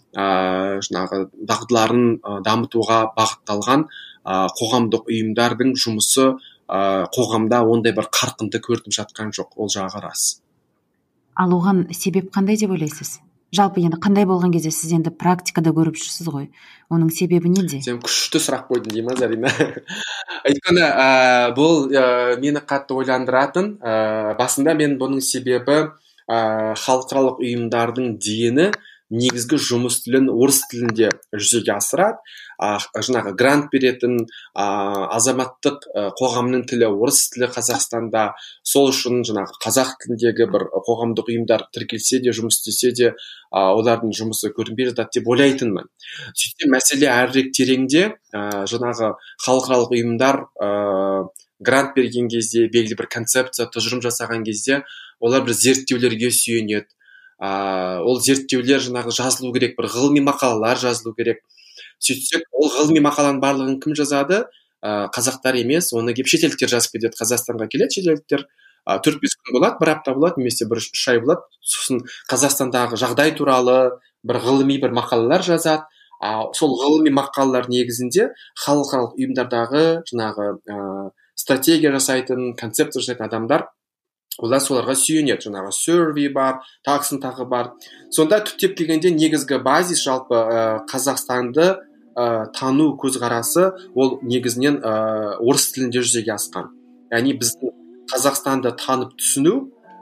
дағдыларын дамытуға бағытталған қоғамдық ұйымдардың жұмысы қоғамда ондай бір қарқынды көрініп жатқан жоқ. Ол жағы рас. Ал оған себеп қандай деп ойлайсыз? Жалпы енді қандай болған кезде сіз енді практикада көріп жүрсіз ғой. Оның себебі неде? Сен күшті сұрақ қойдың деймін, Зарина. Өйткені бұл мені қатты ойландыратын. Басында мен бұның себебі халықаралық ұйымдардың дені негізгі жұмыс тілін орыс тілінде жүзеге асырады. Грант беретін азаматтық қоғамның тілі орыс тілі Қазақстанда. Сол үшін қазақ тіліндегі бір қоғамдық ұйымдар тіркелсе де, жұмыс істесе де, олардың жұмысы көрінбей жатады деп ойлайтынмын. Сөйтсе мәселе әрірек тереңде, халықаралық ұйымдар грант берген кезде, белгілі бір концепция, тұжырым жасаған кезде, олар бір зерттеулерге сүйенеді. Ол зерттеулер жазылу керек, бір ғылыми мақалалар жазылу керек. Сөйтсек, ол ғылыми мақаланың барлығын кім жазады? Қазақтар емес, оны кеп шетелдіктер жазып кетеді. Қазақстанға келеді шетелдіктер, 4-5 күн болады, бір апта болады, немесе 1-3 ай болады. Сосын Қазақстандағы жағдай туралы бір ғылыми бір мақалалар жазады. Сол ғылыми мақалалар негізінде халықаралық ұйымдардағы стратегия жасайтын, концепция жасайтын адамдар, олар соларға сүйенеді. Survey бар, тағы бар. Сонда түптеп келгенде негізгі базис жалпы Қазақстанды тану көзқарасы ол негізінен орыс тілінде жүзеге асқан. Яғни біздің Қазақстанды танып түсіну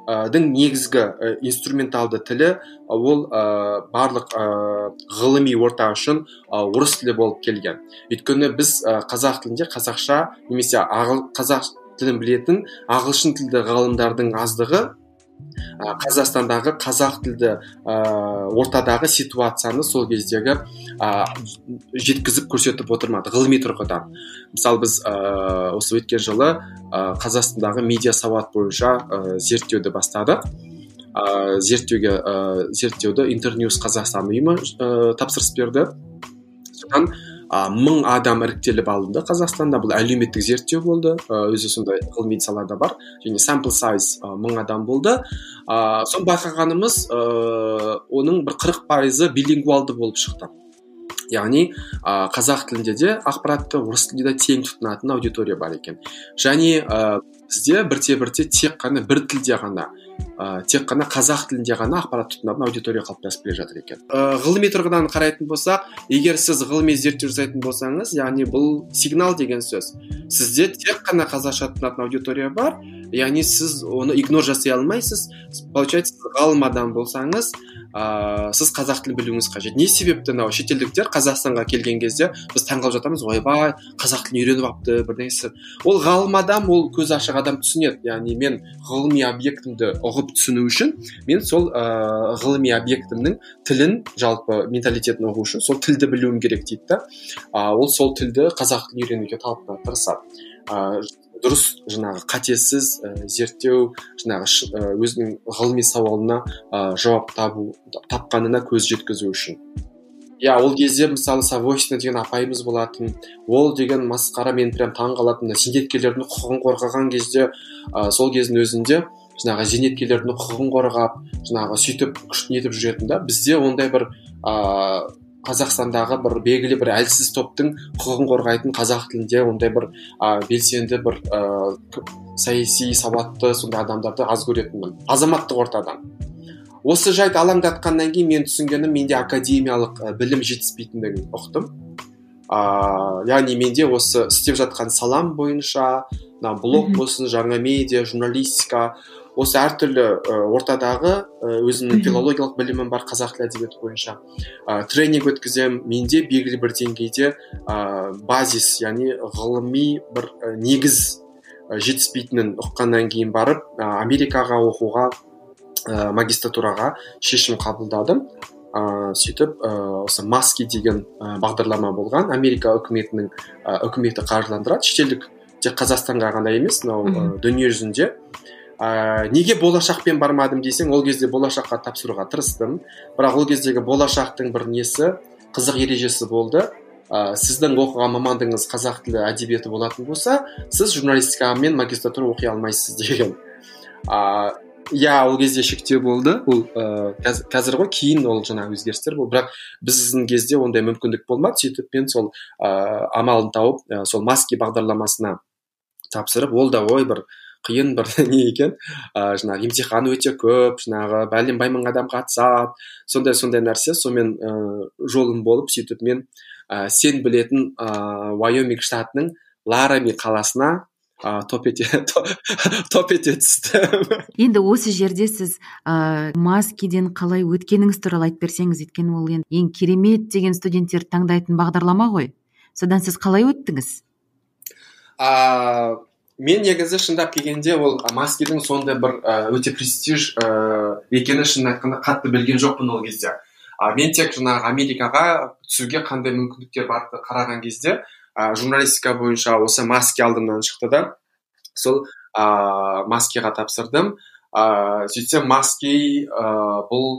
негізгі инструменталды тілі ол барлық ғылыми орта үшін орыс тілі болып келген. Өйткені біз қазақ тілінде қазақша немесе қазақ тілін білетін ағылшын тілді ғалымдардың аздығы Қазақстандағы қазақ тілді ортадағы ситуацияны сол кездегі жеткізіп көрсетіп отырмады ғылыми тұрғыдан. Мысалы біз осы өткен жылы Қазақстандағы медиа сауат бойынша зерттеуді бастадық. Зерттеуді Интерньюз Қазақстан ұйымы тапсырыс берді. Содан 1000 адам іріктеліп алынды Қазақстанда. Бұл әлеуметтік зерттеу болды, өзі сондай ғылыми салада бар, және sample size 1000 адам болды. Сон байқағанымыз оның бір 40% билингвалды болып шықты. Яғни қазақ тілінде де ақпаратты орыс тілінде де тең тұтынатын аудитория бар екен. Және бізде бірте-бірте тек қана бір тілде ғана тек қана қазақ тілінде ғана ақпарат тұтынатын аудитория қалыптасып келе жатыр екен. Ғылыми тұрғыдан қарайтын болсақ, егер сіз ғылыми зерттеу жасайтын болсаңыз, яғни бұл сигнал деген сөз. Сізде тек қана қазақша тұтынатын аудитория бар, яғни сіз оны игнор жасай алмайсыз. Получается, ғалым адам болсаңыз, сіз қазақ тілін білуіңіз қажет. Не себепті шетелдіктер Қазақстанға келген кезде біз таңғалып жатамыз, ойбай, қазақ тілін үйреніп алыпты, бірнәрсе. Ол ғалым адам, ол көз ашық адам түсінеді. Яғни мен ғылыми объектімді ұғып түсіну үшін, мен сол ғылыми объектімнің тілін, жалпы менталитетін ұғу үшін сол тілді білуім керек дейді да. Ол сол тілді қазақ тілін үйренуге тырысады. Дұрыс жаңағы қатесіз зерттеу, жаңағы өзінің ғылыми сауалына жауап тапқанына көз жеткізу үшін. Ол кезде мысалы Савойсина деген апайымыз болатын. Ол деген масқара, мен прям таңғалатын. Зейнеткерлердің құқығын қорғаған кезде, сол кездің өзінде жаңағы зейнеткерлердің құқығын қорғап, жаңағы сөйтіп күшін етіп жүретін да. Бізде ондай бір Қазақстандағы бір белгілі бір әлсіз топтың құқығын қорғайтын қазақ тілінде ондай бір белсенді бір саяси сауатты сондай адамдарды аз көретінмін азаматтық ортадан. Осы жайт алаңдатқаннан кейін мен түсінгенім, менде академиялық білім жетіспейтіндігін ұқтым. Яғни менде осы істеп жатқан салам бойынша, блог болсын, жаңа медиа, журналистика, осы әртүрлі ортадағы өзімнің филологиялық білімім бар қазақ тілі әдебиеті бойынша. Тренинг өткізем, менде белгілі бір деңгейде базис, яғни ғылыми бір негіз жетіспейтінін ұққаннан кейін барып, Америкаға оқуға, магистратураға шешім қабылдадым. Сөйтіп, осы Маски деген бағдарлама болған. Америка үкіметі қаржыландырады, шетелдік тек Қазақстанға ғана емес, дүние жүзінде. Неге болашақпен бармадым десең, ол кезде болашаққа тапсыруға тырыстым. Бірақ ол кездегі болашақтың бір несі, қызық ережесі болды. Сіздің оқыған мамандығыңыз қазақ тілі әдебиеті болатын болса, сіз журналистика мен магистратура оқи алмайсыз деген. Ол кезде шектеу болды. Ол қазір ғой, кейін ол жаңағы өзгерістер болды. Бірақ біздің кезде ондай мүмкіндік болмады. Сөйтіп мен сол амалын тауып, сол Маски бағдарламасына тапсырып, ол да бір қиын бір не екен, жаңағы емтихан өте көп, жаңағы бәлем 1000 адам қатысады, сондай нәрсе. Сонымен жолым болып, сөйтіп мен сен білетін Вайоминг штатының Ларами қаласына топ ете түстім. Енді осы жерде сіз Маскиден қалай өткеніңіз туралы айтып берсеңіз, өйткені ол ең керемет деген студенттер таңдайтын бағдарлама ғой. Содан сіз қалай өттіңіз? Мен негізі шындап келгенде ол Маскидің сондай бір өте престиж екені шынын айтқанда қатты білген жоқпын ол кезде. Мен тек жаңағы Америкаға түсуге қандай мүмкіндіктер барды қараған кезде, журналистика бойынша осы Маски алдымнан шықты да, сол Маскиға тапсырдым. Сөйтсем Маски бұл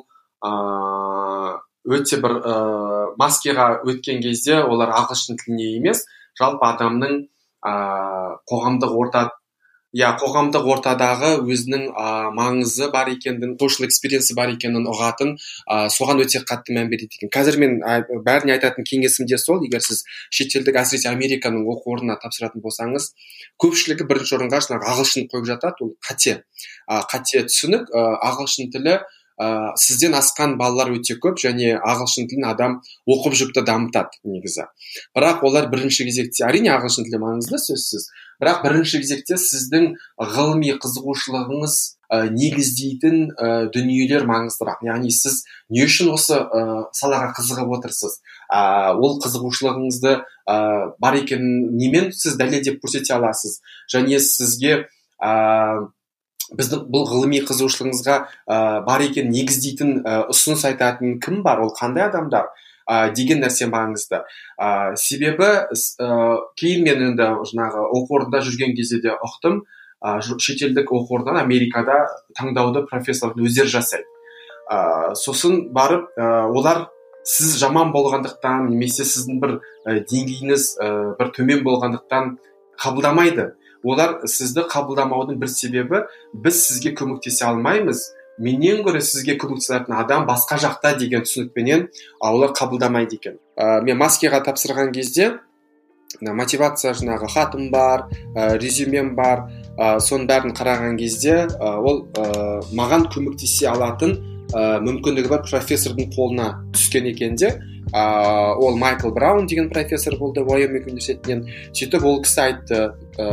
өте бір Маскиға өткен кезде олар ағылшын тіліне емес, жалпы адамның қоғамдық ортадағы өзінің маңызы бар екенін, social experience бар екенін ұғатын, соған өте қатты мән береді екен. Қазір мен бәріне айтатын кеңесім де сол, егер сіз шетелдік, әсіресе Американың оқу орнына тапсыратын болсаңыз, көпшілігі бірінші орынға ағылшын қойып жатады, ол қате түсінік. Ағылшын тілі сізден асқан балалар өте көп, және ағылшын тілін адам оқып жүріп дамытады негізі. Бірақ олар бірінші кезекте, әрине ағылшын тілі маңызды сөзсіз, бірақ бірінші кезекте сіздің ғылыми қызығушылығыңыз негіздейтін дүниелер маңыздырақ. Яғни сіз не үшін осы салаға қызығып отырсыз, ол қызығушылығыңызды бар екенін немен сіз дәлелдеп көрсете аласыз, және сізге біздің бұл ғылыми қызығушылығыңызға бар екенін негіздейтін ұсыныс айтатын кім бар, ол қандай адамдар деген нәрсе маңызды. Себебі кейін мен енді жаңағы оқу орнында жүрген кезде де ұқтым, шетелдік оқу орнынан Америкада таңдауды профессорлар өздері жасайды. Сосын барып олар сіз жаман болғандықтан немесе сіздің бір деңгейіңіз бір төмен болғандықтан қабылдамайды. Олар сізді қабылдамаудың бір себебі, біз сізге көмектесе алмаймыз, менен гөрі сізге көмектесетін адам басқа жақта деген түсінікпенен олар қабылдамайды екен. Мен маскеға тапсырған кезде мотивация жаңағы хатым бар, резюмем бар, соның бәрін қараған кезде ол маған көмектесе алатын мүмкіндігі бар профессордың қолына түскен екен де. Ол Майкл Браун деген профессор болды Уайоминг университетінен. Сөйтіп ол кісі айтты,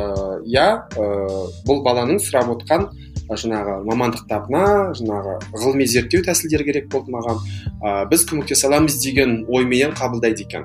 бұл баланың сұрап отқан жаңағы мамандықтарына жаңағы ғылыми зерттеу тәсілдері керек болды маған, біз көмектесе аламыз деген ойменен қабылдайды екен.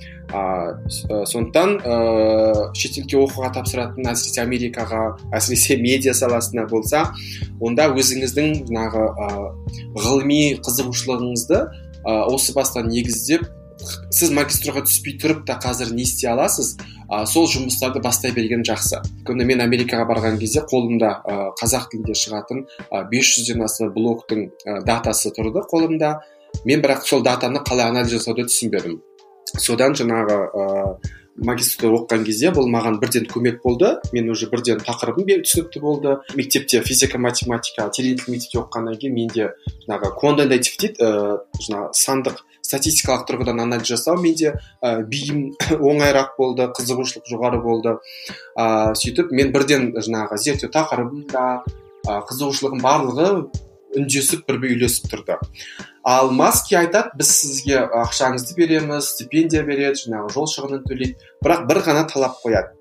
Сондықтан шетелге оқуға тапсыратын, әсіресе Америкаға, әсіресе медиа саласына болса, онда өзіңіздің жаңағы ғылыми қызығушылығыңызды осы бастан негіздеп, сіз магистрға түспей тұрып та қазір не істей аласыз, сол жұмыстарды бастай берген жақсы. Күні мен Америкаға барған кезде қолымда қазақ тілінде шығатын 500-ден астам блогтың датасы тұрды қолымда. Мен бірақ сол датаны қалай анализ жасауды түсінбедім. Содан жаңағы магистрда оқыған кезде бұл маған бірден көмек болды. Мен уже бірден тақырыбым түсінікті болды. Мектепте физика, математика, теоретик мектепте оқығаннан кейін менде жаңағы quantitative дейді, жаңағы сандық статистикалық тұрғыдан анализ жасау менде бейім оңайырақ болды, қызығушылық жоғары болды. Сөйтіп мен бірден жаңағы зерттеу тақырыбым да, қызығушылығым барлығы үндесіп бірге үйлесіп тұрды. Ал Маски айтады, біз сізге ақшаңызды береміз, стипендия береді, жаңағы жол шығынын төлейді, бірақ бір ғана талап қояды.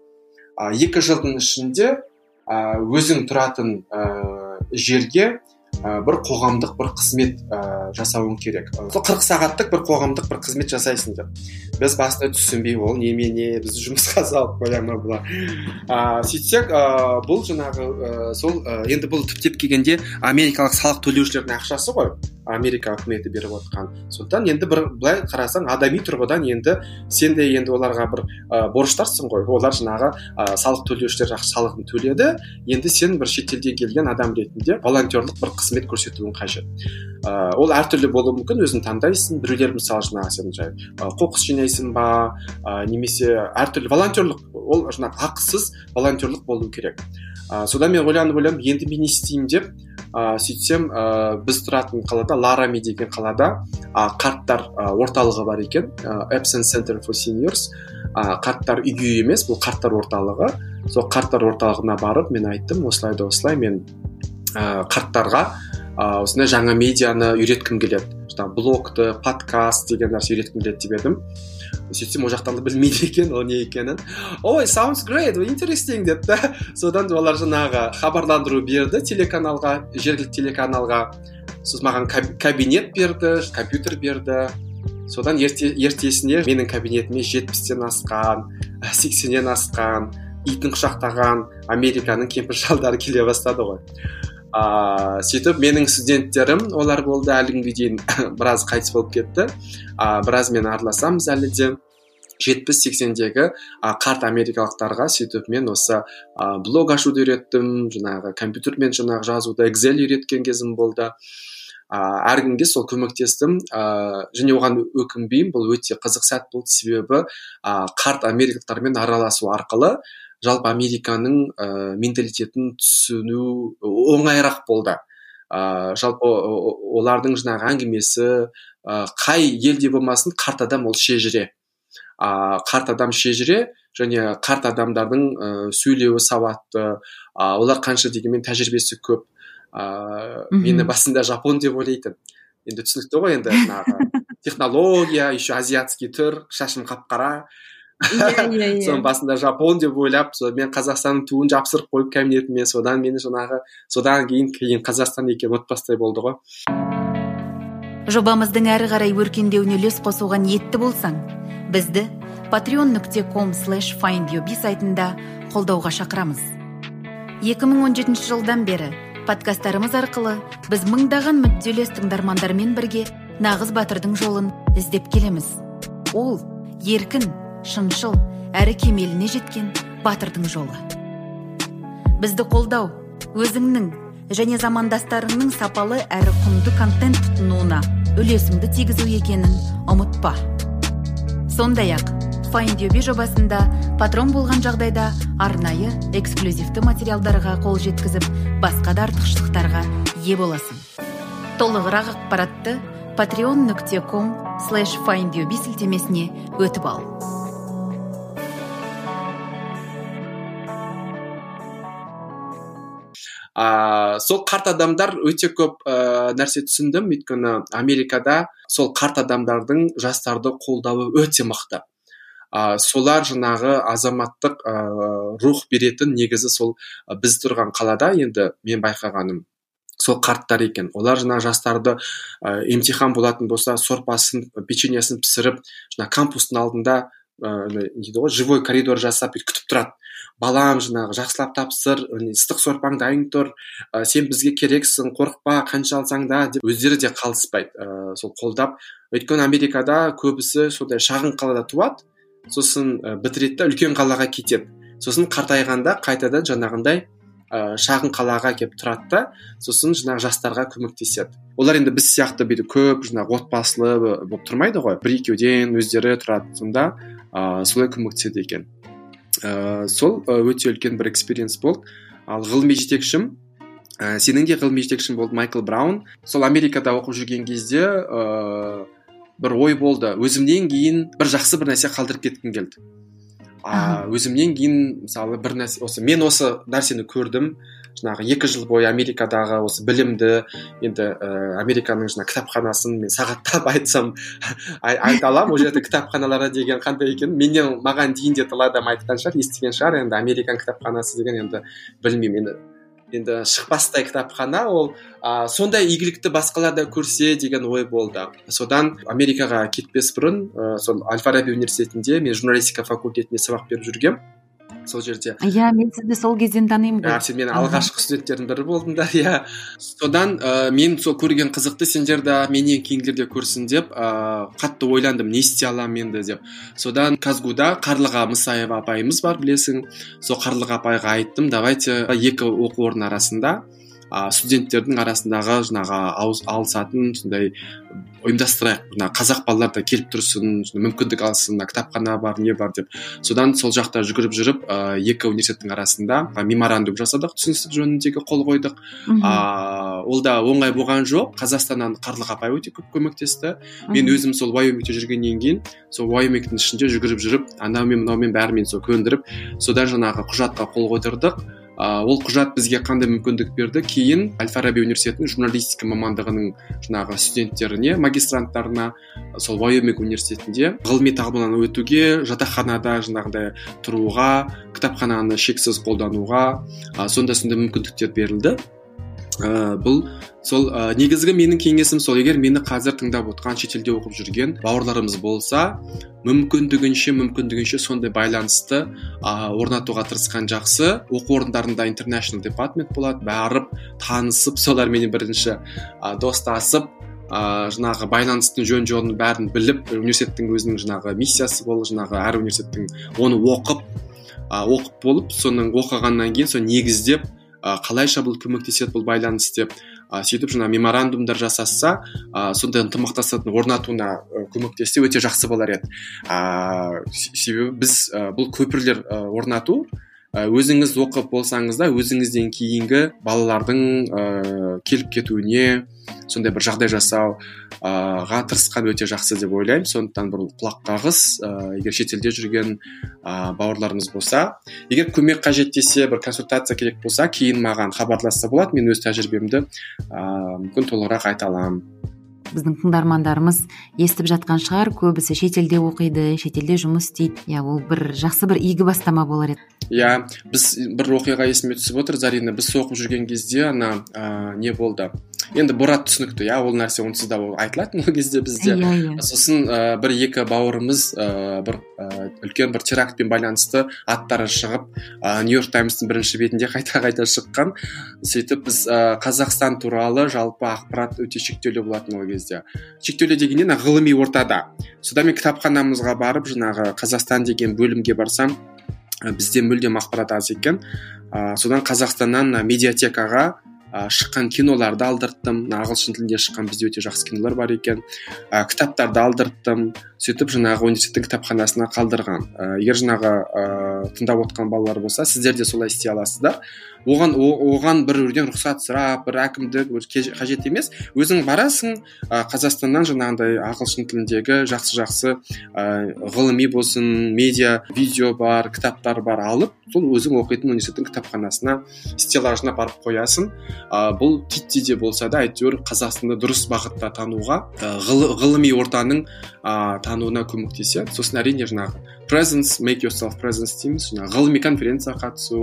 2 жылдың ішінде өзің тұратын жерге бір қоғамдық бір қызмет жасауың керек. 40 сағаттық бір қоғамдық бір қызмет жасайсың деп. Біз басында түсінбей, ол немене, біз жұмысқа салып қояма бұла. Сөйтсек, бұл жаңағы сол енді бұл түптеп келгенде америкалық салық төлеушілердің ақшасы ғой. Америка үкіметі беріп отқан. Сондықтан енді бір былай қарасаң, адами тұрғыдан енді сен де енді оларға бір борыштарсың ғой. Олар жаңағы салық төлеушілер салығын төледі. Енді сен бір шетелден келген адам ретінде волонтерлық бір қызмет көрсетуің қажет. Ол әртүрлі болуы мүмкін, өзің таңдайсың. Біреулер мысалы жаңағы сен жай қоқыс жинайсың ба, немесе әртүрлі волонтерлық, ол жаңағы ақысыз волонтерлық болу керек. Содан мен ойланып, енді мен не істеймін деп, сөйтсем, біз тұратын қалада, Ларами деген қалада қарттар орталығы бар екен, Epson Center for Seniors. Қарттар үйі емес, бұл қарттар орталығы. Сол қарттар орталығына барып, мен айттым, осылай мен қарттарға осындай жаңа медианы үйреткім келеді. Блогты, подкаст деген нәрсе үйреткім келеді деп едім. Сөйтсем, ол жақтан да білмейді екен, ол не екенін. Ой, sounds great, interesting деді. Содан олар жаңағы хабарландыру берді телеканалға, жергілікті телеканалға. Сосын маған кабинет берді, компьютер берді. Содан ертесіне менің кабинетіме 70-тен асқан, 80-нен асқан, итін құшақтаған Американың кемпір-шалдары келе бастады ғой. Сөйтіп менің студенттерім олар болды, әлі күнге дейін біраз қайтыс болып кетті. Біраз мен араласамыз әлі де. 70-80-дегі қарт америкалықтарға сөйтіп мен осы блог ашуды үйреттім, жаңағы компьютермен жаңағы жазуды, Excel үйреткен кезім болды. Әр күнге сол көмектестім, және оған өкінбеймін, бұл өте қызық сәт болды, себебі қарт америкалықтармен араласу арқылы жалпы Американың менталитетін түсіну оңайырақ болды. Жалпы олардың жаңағы әңгімесі, қай елде болмасын, қарт адам ол шежіре. Қарт адам шежіре, және қарт адамдардың сөйлеуі сауатты, олар қанша дегенмен тәжірибесі көп. Мені басында жапон деп ойлайтын. Енді түсінікті ғой, енді технология, еще азиатский түр, шашым қап-қара. Иә. соның басында жапон деп ойлап мен Қазақстанның туын жапсырып қойып кабинетіме, содан кейін Қазақстан екен ұмытпастай болды ғой. Жобамыздың әрі қарай өркендеуіне үлес қосуға ниетті болсаң, бізді patreon.com/findyoubi сайтында қолдауға шақырамыз. 2017 жылдан бері подкасттарымыз арқылы біз мыңдаған мүдделес тыңдармандармен бірге нағыз батырдың жолын іздеп келеміз. Ол еркін, шыншыл, әрі кемеліне жеткен батырдың жолы. Бізді қолдау, өзіңнің және замандастарыңның сапалы әрі құнды контент тұтынуына үлесіңді тигізу екенін ұмытпа. Сондай-ақ, FindYoubi жобасында патрон болған жағдайда арнайы эксклюзивті материалдарға қол жеткізіп, басқа да артықшылықтарға ие боласың. Толығырақ ақпаратты patreon.com/findyoubi сілтемесіне өтіп ал. Сол қарт адамдар өте көп нәрсе түсіндім, өйткені Америкада сол қарт адамдардың жастарды қолдауы өте мықты. Солар жаңағы азаматтық рух беретін негізі сол біз тұрған қалада енді мен байқағаным сол қарттар екен. Олар жаңа жастарды емтихан болатын болса сорпасын, печеньесін пісіріп, жаңа кампустың алдында живой коридор жасап күтіп тұрады. Балам, жаңағы жақсылап тапсыр, ыстық сорпаң дайын тұр, сен бізге керексің, қорықпа, қанша алсаң да деп өздері де қалыспайды, сол қолдап. Өйткені Америкада көбісі сондай шағын қалада туады, сосын бітіреді де үлкен қалаға кетеді. Сосын қартайғанда қайтадан жаңағындай шағын қалаға келіп тұрады да, сосын жаңағы жастарға көмектеседі. Олар енді біз сияқты бейді көп жаңағы отбасылы болып тұрмайды ғой, бір-екеуден өздері тұрады, сонда солай көмектеседі екен. Сол өте үлкен бір экспириенс болды. Ал ғылыми жетекшім, сенің де ғылыми жетекшің болды, Майкл Браун. Сол Америкада оқып жүрген кезде бір ой болды. Өзімнен кейін бір жақсы бір нәрсе қалдырып кеткім келді. Өзімнен кейін мысалы бір нәрсе, мен осы нәрсені көрдім. Жаңағы 2 жыл бойы Америкадағы осы білімді, енді Американың жаңа кітапханасын мен сағаттап айтсам айта аламын. Ол жерде кітапханалары деген қандай екен. Менен маған дейін де тыл адам айтқан шығар, естіген шығар. Енді Американ кітапханасы деген енді білмеймін, енді шықпастай кітапхана, ол сондай игілікті басқаларда көрсе деген ой болды. Содан Америкаға кетпес бұрын сол Аль-Фараби университетінде мен журналистика факультетінде сабақ беріп жүргем. Сол жерде. Иә, мен сізді сол кезден танимын ғой. Сен менің алғашқы студенттердің бірі болдыңдар, иә. Содан мен сол көрген қызықты, сендер де менен кейінгілерде көрсін деп қатты ойландым, не істей аламын енді деп. Содан Казгуда Қарлыға Мысаева апайымыз бар, білесің. Сол Қарлыға апайға айттым, давайте 2 оқу орын арасында студенттердің арасындағы жаңағы алысатын сондай ұйымдастырайық. Қазақ балалар да келіп тұрсын, мүмкіндік алсын, кітапхана бар, не бар деп. Содан сол жақта жүгіріп жүріп, 2 университеттің арасында меморандум жасадық, түсіністік жөніндегі қол қойдық. Ол да оңай болған жоқ. Қазақстаннан Қарлыға апай өте көп көмектесті. Мен өзім сол Вайомингте жүргеннен кейін, сол Вайомингтің ішінде жүгіріп жүріп, анаумен мынаумен бәрімен сол көндіріп, содан жаңағы құжатқа қол қойдырдық. Ол құжат бізге қандай мүмкіндік берді? Кейін Аль-Фараби университетінің журналистика мамандығының жаңағы студенттеріне, магистранттарына сол Вайоминг университетінде ғылыми тағылымнан өтуге, жатақханада жаңағыдай тұруға, кітапхананы шексіз қолдануға, сондай мүмкіндіктер берілді. Бұл сол негізгі менің кеңесім сол, егер мені қазір тыңдап отқан шетелде оқып жүрген бауырларымыз болса, мүмкіндігінше сондай байланысты орнатуға тырысқан жақсы. Оқу орындарында International Department болады, барып танысып, солармен бірінші достасып, жаңағы байланыстың жөн-жорын бәрін біліп, университеттің өзінің жаңағы миссиясы болды, жаңағы әр университеттің оны оқып болып, соның оқығаннан кейін сол негіздеп қалайша бұл көмектеседі, бұл байланыс деп сөйтіп жаңа меморандумдар жасасса, сондай ынтымақтастықтың орнатуына көмектессе өте жақсы болар еді. Себебі біз бұл көпірлер орнату, өзіңіз оқып болсаңыз да, өзіңізден кейінгі балалардың келіп кетуіне сондай бір жағдай жасауға тырысқан өте жақсы деп ойлаймын. Сондықтан бір құлақ қағыс, егер шетелде жүрген бауырларымыз болса, егер көмек қажет десе, бір консультация керек болса, кейін маған хабарласса болады, мен өз тәжірибемді мүмкін толығырақ айта аламын. біздің тыңдармандарымыз естіп жатқан шығар, көбісі шетелде оқиды, шетелде жұмыс істейді. Иә, ол бір жақсы бір игі бастама болар еді. Иә, біз бір оқиға есіме түсіп отыр, Зарина. Біз оқып жүрген кезде не болды? Енді Борат түсінікті, иә, ол нәрсе онсыз да айтылатын ол кезде бізде. Сосын бір-екі бауырымыз бір үлкен бір терактпен байланысты аттары шығып, Нью-Йорк Таймстың бірінші бетінде қайта шыққан. Сөйтіп біз Қазақстан туралы жалпы ақпарат өте шектеулі болатын ол кезде. Шектеулі дегеннен ғылыми ортада. Содан мен кітапханамызға барып, жаңағы Қазақстан деген бөлімге барсам, бізде мүлдем ақпарат аз екен. Содан Қазақстаннан медиатекаға шыққан киноларды алдырттым. Ағылшын тілінде шыққан бізде өте жақсы кинолар бар екен. Кітаптарды алдырттым. Сөйтіп жаңағы университеттің кітапханасына қалдырған. Егер жаңағы тыңдап отқан балалар болса, сіздер де солай істей аласыздар. Оған біреуден рұқсат сұрап, бір әкімдік қажет емес. Өзің барасың, Қазақстаннан жаңағындай ағылшын тіліндегі жақсы ғылыми болсын, медиа, видео бар, кітаптар бар алып, сол өзің оқитын университеттің кітапханасына, стеллажына барып қоясың. Бұл титтей де болса да, әйтеуір Қазақстанды дұрыс бағытта тануға, ғылыми ортаның тануына көмектеседі. Сосын әрине жаңағы presence, make yourself presence дейміз, жаңағы ғылыми конференцияға қатысу,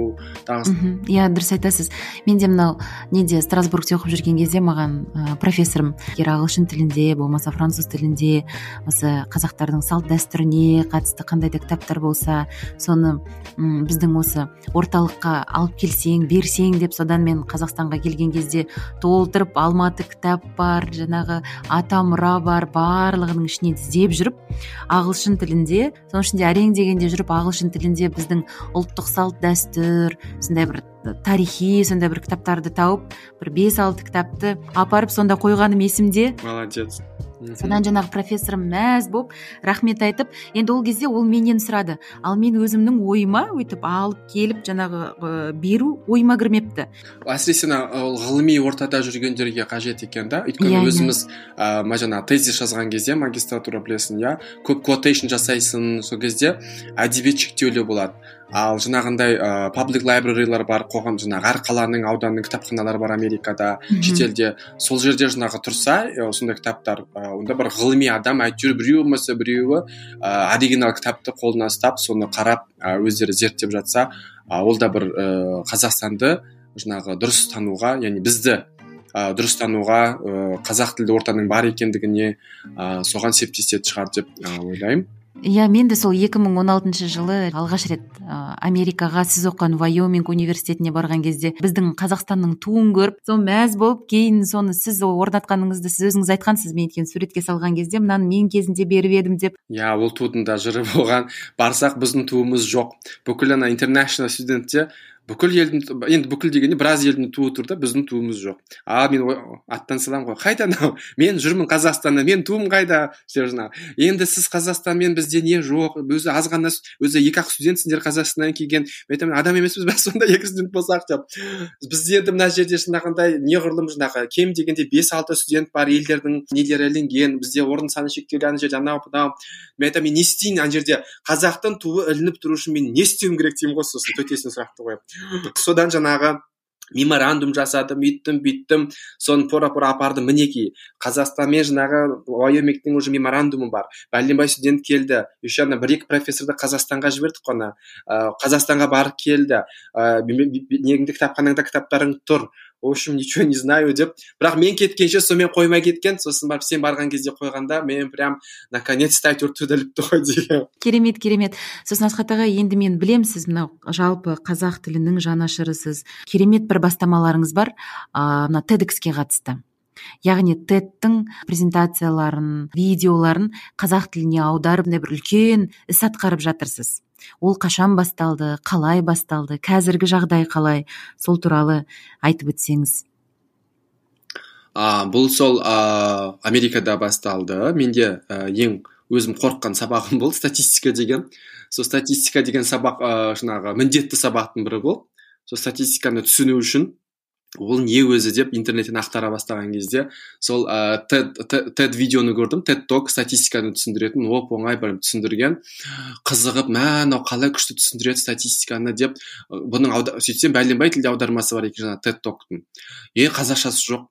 Иә, дұрыс айтасыз. Мен де мынау Страсбургте оқып жүрген кезде маған профессорым ағылшын тілінде, болмаса француз тілінде, осы қазақтардың салт дәстүріне қатысты қандай да кітаптар болса, соны біздің осы орталыққа алып келсең, берсең деп, содан мен Қазақстанға келген кезде толтырып, Алматы кітап бар, жаңағы Атамұра бар, барлығының ішінен іздеп жүріп, ағылшын тілінде, соның ішінде әрең дегенде жүріп, ағылшын тілінде біздің ұлттық салт дәстүр, сондай бір тарихи, сондай бір кітаптарды тауып, бір 5-6 кітапты апарып сонда қойғаным есімде. Молодец. Содан жаңағы профессорым мәз болып, рахмет айтып, енді ол кезде ол менен сұрады. Ал мен өзімнің ойыма өйтіп алып келіп, жаңағы беру ойыма кірмепті. Әсіресе ол ғылыми ортада жүргендерге қажет екен да. Өйткені өзіміз жаңағы тезис жазған кезде, магистратура білесің, иә, көп quotation жасайсың, сол кезде әдебиет шектеулі болады. Ал жаңағындай public library-лар бар, қоғам, жаңағы әр қаланың, ауданның кітапханалары бар Америкада, шетелде. Сол жерде жаңағы тұрса, сондай кітаптар, онда бір ғылыми адам, әйтеуір біреуі оригинал кітапты қолына ұстап, соны қарап, өздері зерттеп жатса, ол да бір Қазақстанды жаңағы дұрыс тануға, яғни бізді дұрыс тануға, қазақ тілді ортаның бар екендігіне соған септесетін шығар деп ойлаймын. Иә, мен де сол 2016 жылы алғаш рет Америкаға, сіз оқыған Вайоминг университетіне барған кезде біздің Қазақстанның туын көріп, сол мәз болып, кейін соны сіз орнатқаныңызды сіз өзіңіз айтқансыз, мен екен суретке салған кезде, мынаны мен кезінде беріп едім деп. Иә, ол тудың да жыры болған. Барсақ біздің туымыз жоқ. Бүкіл international студентте бүкіл елдің, енді бүкіл дегенде біраз елдің туы тұр да, біздің туымыз жоқ. Мен аттан салам ғой, қайда анау? Мен жүрмін Қазақстанда, мен туым қайда? Енді сіз Қазақстанмен бізде не жоқ? Өзі аз ғана, өзі 2-ақ студентсіңдер Қазақстаннан келген. Мен адам емеспіз, біз сонда 2 студент болсақ деп. Бізде енді мына жерде шынағандай неғұрлым жаңағы кем дегенде 5-6 студент бар, елдердің нелері ілінген, бізде орын саны шектеулі, ана жерде анау. Мен айтамын, мен не істейін ана жерде? Қазақтың туы ілініп тұру үшін мен не істеуім керек деймін ғой, сосын төтесін сұрақты қойып. Содан жаңағы меморандум жасадым, үйттім, соны пора апарды, мінеки. Қазақстанмен жаңағы Вайомингтің уже меморандумы бар. Бәлленбай студент келді. Еще 1-2 профессорды Қазақстанға жібердік қана. Қазақстанға барып келді. Негінде кітапханаңда кітаптарың тұр. В общем, ничего не знаю деп. Бірақ мен кеткенше сонымен қоймай кеткен. Сосын барып сен барған кезде қойғанда, мен прям наконец-то әйтеуір түділіпті ғой деген. Керемет. Сосын Асхат аға, енді мен білем, сіз мынау жалпы қазақ тілінің жанашырысыз. Керемет бір бастамаларыңыз бар, мына TEDx'ке қатысты. Яғни TED-тің презентацияларын, видеоларын қазақ тіліне аударып, бір үлкен іс атқарып жатырсыз. Ол қашан басталды, қалай басталды, қазіргі жағдай қалай, сол туралы айтып өтсеңіз. Бұл сол Америкада басталды. Менде ең өзім қорыққан сабағым болды, статистика деген. Сол статистика деген сабақ жаңағы міндетті сабақтың бірі болды. Сол статистиканы түсіну үшін ол не өзі деп интернеттен ақтара бастаған кезде сол TED видеоны көрдім, TED Talk статистиканы түсіндіретін, оңай бір түсіндірген, қызығып, мынау қалай күшті түсіндіреді статистиканы деп, бұның сөйтсем бәленбай тілде аудармасы бар екен жаңа TED Talk'тың. Қазақшасы жоқ.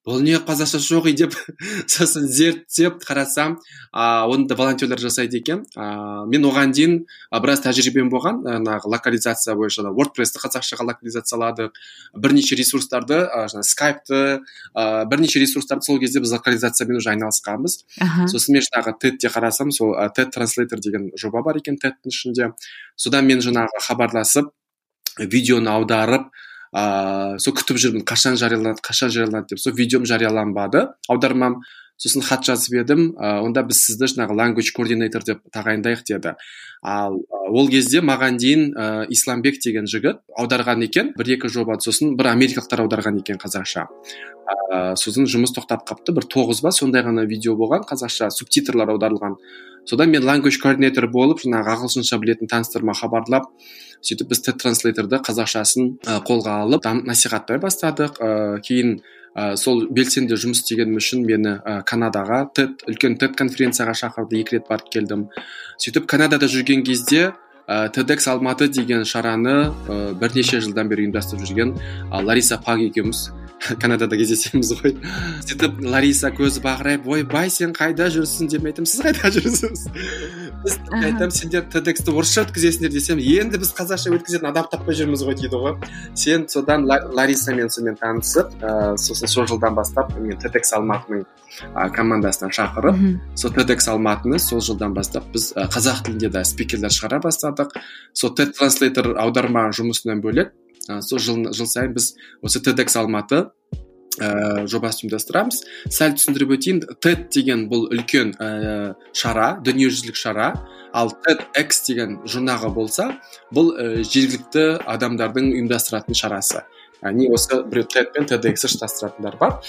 бұл не қазақша жоқ деп сосын зерттеп қарасам оны да волонтерлер жасайды екен. Мен оған дейін біраз тәжірибем болған, локализация бойынша WordPress-ті қазақшаға локализацияладық, бірнеше ресурстарды, скайпты, бірнеше ресурстарды сол кезде біз локализациямен уже айналысқанбыз. Сосын мен TED-те қарасам, сол TED Translator деген жоба бар екен TED-тің ішінде. Содан мен хабарласып, видеоны аударып, сол күтіп жүрмін, қашан жарияланады деп. Сол видеом жарияланбады, аудармам. Сосын хат жазып едім, онда біз сізді language coordinator деп тағайындайық деді. Ол кезде маған дейін Исламбек деген жігіт аударған екен, 1-2 жоба, сосын бір америкалықтар аударған екен қазақша. Сосын жұмыс тоқтап қапты, бір 9 ба сондай ғана видео болған, қазақша субтитрлар аударылған. Содан мен language coordinator болып, ағылшынша білетін таныстарыма хабарлап, сөйтіп біз TED Translator'ды қазақшасын қолға алып, насихаттай бастадық. Кейін сол белсенді жұмыс істегенім үшін мені Канадаға үлкен TED конференцияға шақырды, 2 рет барып келдім. Сөйтіп Канадада жүрген кезде TEDx Алматы деген шараны бірнеше жылдан бері ұйымдастырып жүрген Лариса Пак екеуміз Канадада кездесеміз ғой. Сөйтіп Лариса көзі бағырайып, ойбай, сен қайда жүрсің деп айтам, сіз қайда жүрсіз? Біз айтам, сендер TEDx-ті орысша өткізесіңдер десем, енді біз қазақша өткізетін адам таппай жүрміз ғой дейді ғой. Сен содан Ларисамен сонымен танысып, сосын сол жылдан бастап мен TEDx Алматының командасынан шақырып, сол TEDx Алматыны сол жылдан бастап біз қазақ тілінде де спикерлер шығара бастадық. Сол TED Translator аударма жұмысынан бөлек, сол жыл сайын біз осы TEDx Алматы жобасын ұйымдастырамыз. Сәл түсіндіріп өтейін, TED деген бұл үлкен шара, дүниежүзілік шара, ал TEDx деген жұрнағы болса, бұл жергілікті адамдардың ұйымдастыратын шарасы. Не осы біреу TED пен TEDx-і штастыратындар бар.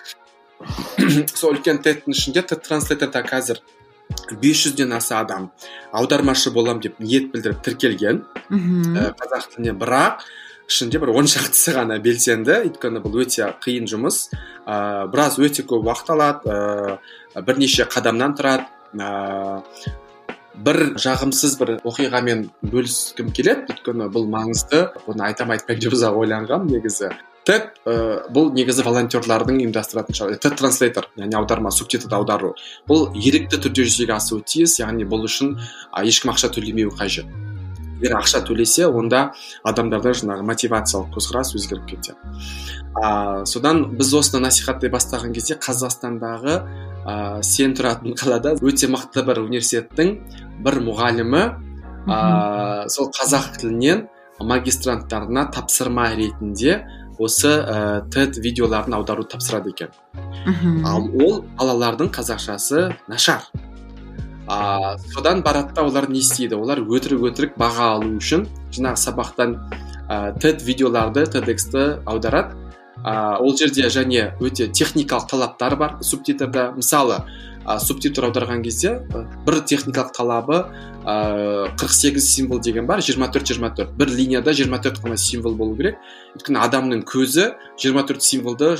Сол үлкен TED-тің ішінде TED Translator-да қазір 500-ден аса адам аудармашы болам деп ниет білдіріп тіркелген қазақ тіліне, бірақ ішінде бір 10 шақтысы ғана белсенді, өйткені бұл өте қиын жұмыс, біраз өте көп уақыт алады, бірнеше қадамнан тұрады. Бір жағымсыз бір оқиғамен бөліскім келеді, өйткені бұл маңызды, бұны айтпай деп ұзақ ойланғам негізі. TED бұл негізі волонтерлардың ұйымдастыратын шара. TED Translator, яғни аударма, субтитрді аудару. Бұл ерікті түрде жүзеге асуы тиіс, яғни бұл үшін ешкім ақша төлемеуі қажет. Егер ақша төлесе, онда адамдарда мотивациялық көзқарас өзгеріп кетеді. Содан біз осыны насихаттай бастаған кезде Қазақстандағы сен тұратын қалада өте мықты бір университеттің бір мұғалімі сол қазақ тілінен магистранттарына тапсырма ретінде осы TED видеоларын аудару тапсырады екен. Ол балалардың қазақшасы нашар. Содан баратта олар не істейді? Олар өтірік баға алу үшін сабақтан TED видеоларды, TEDx-ті аударады. Ол жерде және өте техникалық талаптар бар субтитрда. Мысалы, субтитр аударған кезде бір техникалық талабы 48 символ деген бар, 24. Бір линияда 24 қана символ болу керек. Өйткені адамның көзі 24 символды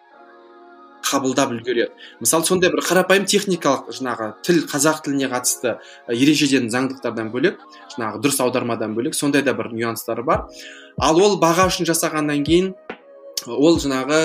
қабылдап үлгереді. Мысалы, сондай бір қарапайым техникалық тіл, қазақ тіліне қатысты ережеден, заңдықтардан бөлек, дұрыс аудармадан бөлек, сондай да бір нюанстары бар. Ал ол баға үшін жасағаннан кейін, ол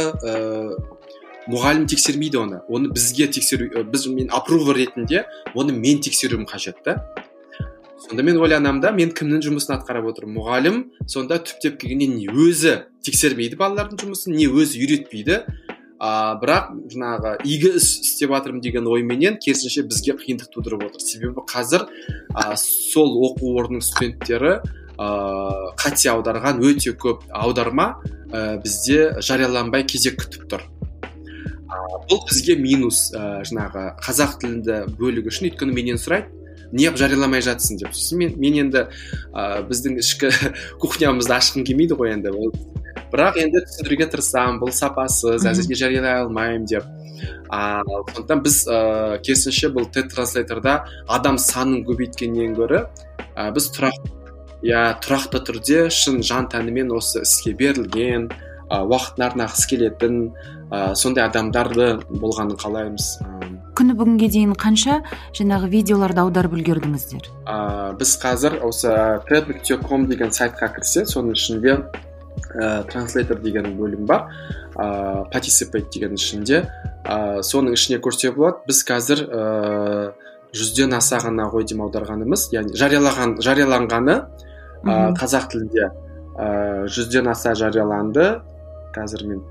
мұғалім тексермейді оны. Оны бізге тексеру, мен апрувер ретінде, оны мен тексеруім қажет та. Сонда мен ойланамда, мен кімнің жұмысын атқарып отырмын? Мұғалім сонда түптеп келгенде не өзі тексермейді балалардың жұмысын, не өзі үйретпейді. Бірақ игі іс істеп жатырмын деген ойменен керісінше бізге қиындық тудырып отыр. Себебі қазір сол оқу орнының студенттері қате аударған өте көп аударма бізде жарияланбай кезек күтіп тұр. Бұл бізге минус, қазақ тілінде бөлігі үшін, өйткені менен сұрайды, неғып жарияламай жатсың деп. Мен енді біздің ішкі кухнямызды ашқым келмейді ғой енді. Бірақ енді түсіндіруге тырысамын, бұл сапасыз, әзірге жариялай алмаймын деп. Сондықтан біз керісінше бұл TED Translator'да адам санын көбейткеннен гөрі біз тұрақты түрде шын жан тәнімен осы іске берілген, уақытын арнағысы келетін сондай адамдарды болғанын қалаймыз. Күні бүгінге дейін қанша видеоларды аударып үлгердіңіздер? Біз қазір осы TED.com деген сайтқа кірсе, соның ішінде транслейтор деген бөлім бар, participate деген ішінде, соның ішіне көрсе болады. Біз қазір 100-ден аса ғана ғой дейм аударғанымыз, яғни жарияланғаны қазақ тілінде 100-ден аса жарияланды. Қазір мен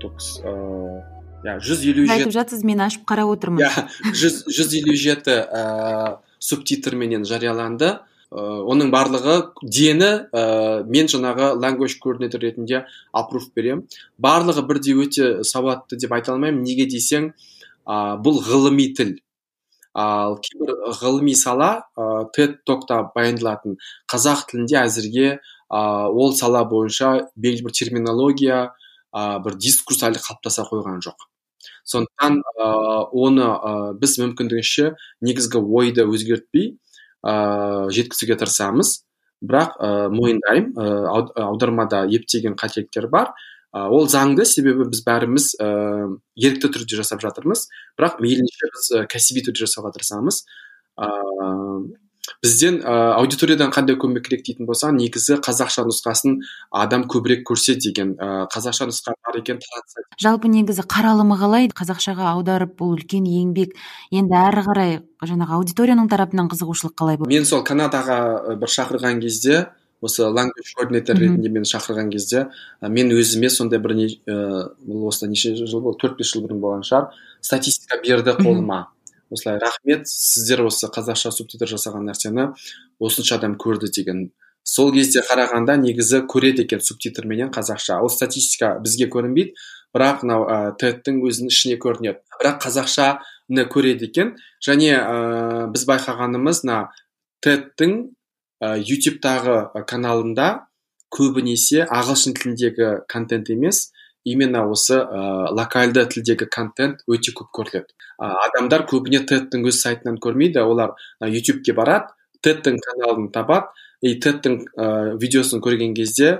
157 айтып жатсыз, мен ашып қарап отырмын. 157 субтитрменен жарияланды. Оның барлығы дені мен жаңағы language coordinator ретінде аппрув берем. Барлығы бірдей өте сауатты деп айта алмаймын. Неге десең, бұл ғылыми тіл. Ал кейбір ғылыми сала TED Talk'та баяндалатын қазақ тілінде әзірге ол сала бойынша белгілі бір терминология, бір дискурс әлі қалыптаса қойған жоқ. Сондықтан оны біз мүмкіндігінше негізгі ойды өзгертпей жеткізуге тырысамыз. Бірақ мойындаймын, аудармада ептеген қателіктер бар. Ол заңды, себебі біз бәріміз ерікті түрде жасап жатырмыз. Бірақ мейлінше біз кәсіби түрде жасауға тырысамыз. Бізден аудиториядан қандай көмек керек дейтін болса, негізі қазақша нұсқасын адам көбірек көрсе деген, қазақша нұсқа бар екен таратса. Жалпы негізі қаралымы қалай? Қазақшаға аударып, бұл үлкен еңбек. Енді әрі қарай жаңағы аудиторияның тарапынан қызығушылық қалай болды? Мен сол Канадаға бір шақырған кезде, осы language coordinator ретінде мені шақырған кезде, мен өзіме сондай бір осыдан неше жыл болды, 4-5 жыл бұрын болған шығар, статистика берді қолыма. Осылай, рахмет, сіздер осы қазақша субтитр жасаған нәрсені осынша адам көрді деген. Сол кезде қарағанда негізі көреді екен субтитрменен қазақша. Ол статистика бізге көрінбейді, бірақ TED-тің өзінің ішіне көрінеді. Бірақ қазақшаны көреді екен. Және біз байқағанымыз TED-тің YouTube-тағы каналында көбінесе ағылшын тіліндегі контент емес, именно осы локальды тілдегі контент өте көп көріледі. Адамдар көбіне TED-тің өз сайтынан көрмейді, олар YouTube-ке барады, TED-тің каналын табады, TED-тің видеосын көрген кезде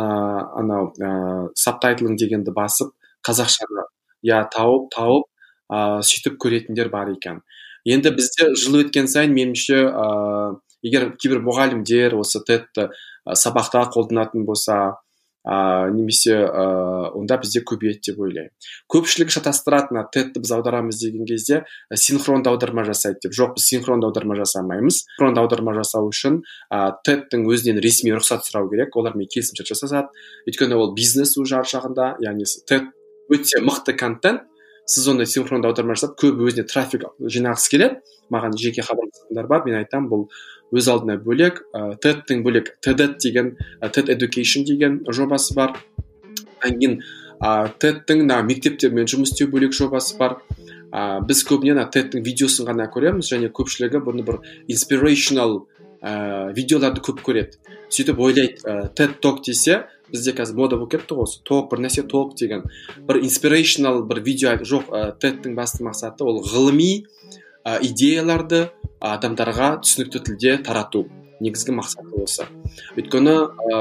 сабтайтлын дегенді басып, қазақшаны тауып сөйтіп көретіндер бар екен. Енді бізде жыл өткен сайын меніңше, егер кейбір мұғалімдер осы TED-ті сабақта қолданатын болса, немесе онда бізде көбейеді деп ойлаймын. Көпшілік шатастыратын TED-ті біз аударамыз деген кезде синхронды аударма жасайды деп. Жоқ, біз синхронды аударма жасамаймыз. Синхронды аударма жасау үшін TED-тің өзінен ресми рұқсат сұрау керек. Олармен келісімшарт жасасады. Өйткені ол бизнес жар жағында, яғни TED өте мықты контент. Сіз оны синхронды аударма жасап, көбі өзіне трафик жинағысы келеді. Маған жеке хабарласқандар бар, мен айтам, бұл өз алдына бөлек, TED-тің бөлек TED деген, TED Education деген жобасы бар. Кейін TED-тің мектептермен жұмыс істеу бөлек жобасы бар. Біз көбіне TED-тің видеосын ғана көреміз, және көпшілігі бұны бір inspirational видеоларды көп көреді. Сөйтіп ойлайды, TED Talk десе, бізде қазір мода болып кетті ғой, talk, бір нәрсе talk деген. Бір inspirational бір видео жоқ, TED-тің басты мақсаты ол ғылыми идеяларды адамдарға түсінікті тілде тарату. Негізгі мақсаты осы. Өйткені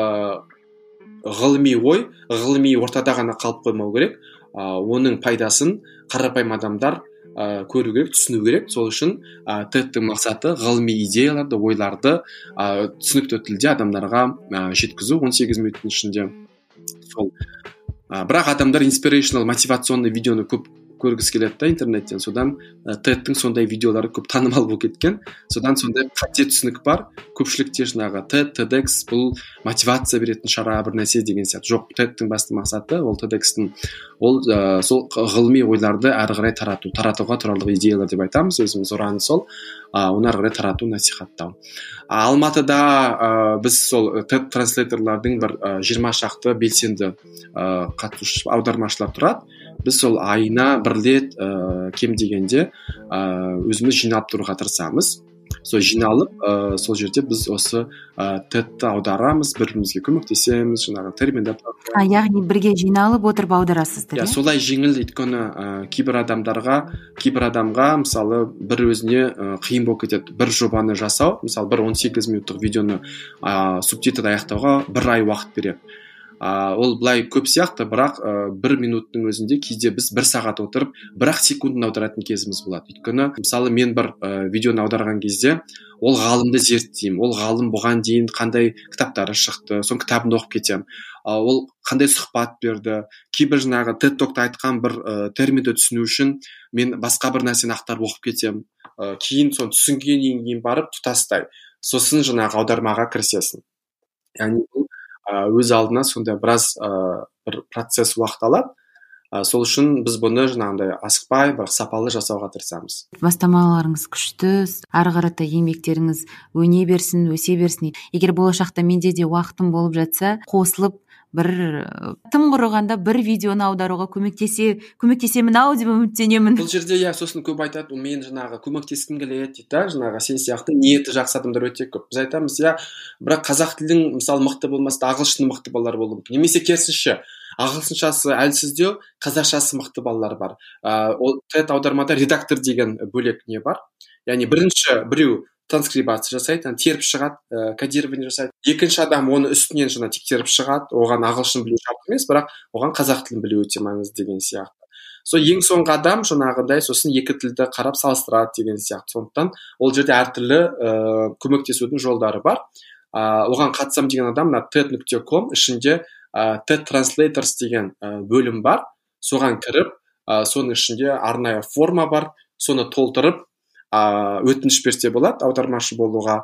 ғылыми ой, ғылыми ортада ғана қалып қоймау керек. Оның пайдасын қарапайым адамдар көру керек, түсіну керек. Сол үшін TED-тің мақсаты ғылыми идеяларды, ойларды түсінікті тілде адамдарға жеткізу 18 минуттың ішінде. Бірақ адамдар inspirational, мотивационный видеоны көп көргісі келеді интернеттен. Содан TED-тің сондай видеолары көп танымал болып кеткен. Содан сондай қате түсінік бар. Көпшілікте жаңағы TED, TEDx бұл мотивация беретін шара бір нәрсе деген сияқты. Жоқ, TED-тің басты мақсаты ол TEDx-тің сол ғылыми ойларды әрі қарай таратуға туралы идеялар деп айтамыз. Өзіміз ұраны сол, оны әрі қарай тарату, насихаттау. Алматыда біз сол TED транслейторлардың бір 20 шақты белсенді қатысушы аудармашылар тұрады. Біз сол айына бір рет кем дегенде өзіміз жиналып тұруға тырысамыз. Сол жиналып, сол жерде біз осы TED-ті аударамыз, бірімізге көмектесеміз, жаңағы терминдер. Яғни бірге жиналып отырып аударасыздар, солай жеңіл, өйткені кейбір адамға мысалы бір өзіне қиын болып кетеді. Бір жобаны жасау, мысалы бір 18 минуттық видеоны субтитр аяқтауға бір ай уақыт береді. ол былай көп сияқты, бірақ 1 минуттың өзінде кейде біз 1 сағат отырып 1 секундын аударатын кезіміз болады. Өйткені мысалы мен бір видеоны аударған кезде ол ғалымды зерттеймін, ол ғалым бұған дейін қандай кітаптары шықты, соның кітабын оқып кетемін, ол қандай сұхбат берді, кейбір жаңағы TED Talk'та айтқан бір терминді түсіну үшін мен басқа бір нәрсені ақтарып оқып кетемін, кейін соны түсінгеннен кейін барып тұтастай сосын жаңағы аудармаға кірісесің. Яғни бұл өз алдына сондай біраз бір процесс уақыт алады. Сол үшін біз бұны жаңағындай асықпай, бірақ сапалы жасауға тырысамыз. Бастамаларыңыз күшті, ары қарата еңбектеріңіз өне берсін, өсе берсін. Егер болашақта менде де уақытым болып жатса, қосылып бір тым құрығанда бір видеоны аударуға көмектесемін ау деп үміттенемін. Бұл жерде сосын көп айтады, мен жаңағы көмектескім келеді дейді, жаңағы сен сияқты ниеті жақсы адамдар өте көп. Біз айтамыз, бірақ қазақ тілдің мысалы мықты болмаса, ағылшын мықты балалар болуы мүмкін. Немесе керісінше, ағылшыншасы әлсіздеу, қазақшасы мықты балалар бар. Ол TED аудармада редактор деген бөлек не бар. Яғни бірінші біреу транскрибация жасайды, теріп шығады, кодирование жасайды. Екінші адам оны үстінен жаңа тексеріп шығады. Оған ағылшын білу шарт емес, бірақ оған қазақ тілін білу өте маңызды деген сияқты. Ең соңғы адам жаңағыдай сосын екі тілді қарап салыстырады деген сияқты. Сондықтан ол жерде әртүрлі көмектесудің жолдары бар. Оған қатысам деген адам TED.com ішінде TED Translators деген бөлім бар. Соған кіріп, соның ішінде арнайы форма бар. Соны толтырып өтініш берсе болады аудармашы болуға.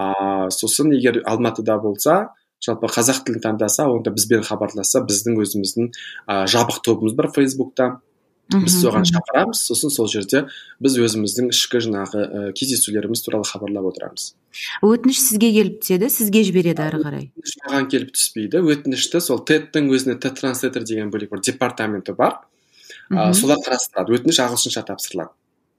Сосын егер Алматыда болса, жалпы қазақ тілін таңдаса, онда бізбен хабарласса, біздің өзіміздің жабық тобымыз бар Фейсбукта. Біз соған шақырамыз, сосын сол жерде біз өзіміздің ішкі жаңағы кездесулеріміз туралы хабарлап отырамыз. Өтініш сізге келіп түседі, сізге жібереді ары қарай? Өтініш маған келіп түспейді. Өтінішті сол TED-тің өзіне TED Translator деген бөлек бір департаменті бар. Солар қарастырады. Өтініш ағылшынша тапсырылады.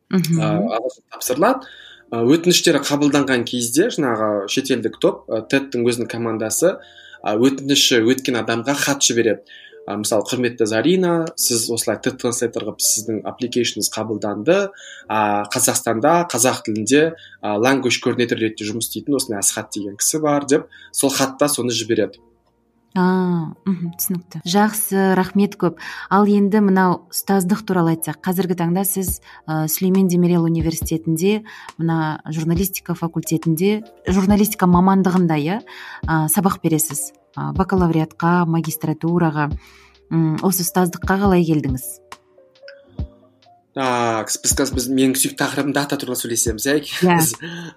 Өтініштері қабылданған кезде жаңағы шетелдік топ, TED-тің өзінің командасы өтініші өткен адамға хат жібереді. Мысалы, құрметті Зарина, сіз осылай TED Translator ғып сіздің application'ыңыз қабылданды, Қазақстанда қазақ тілінде language coordinator ретінде жұмыс істейтін осындай Асхат деген кісі бар деп, сол хатта соны жібереді. Түсінікті. Жақсы, рахмет көп. Ал енді мынау ұстаздық туралы айтсақ, қазіргі таңда сіз Сүлеймен Демирел университетінде, мына журналистика факультетінде, журналистика мамандығында сабақ бересіз. Бакалавриатқа, магистратураға, осы ұстаздыққа қалай келдіңіз? Біз менің сүйікті тақырыбым дата туралы сөйлесеміз.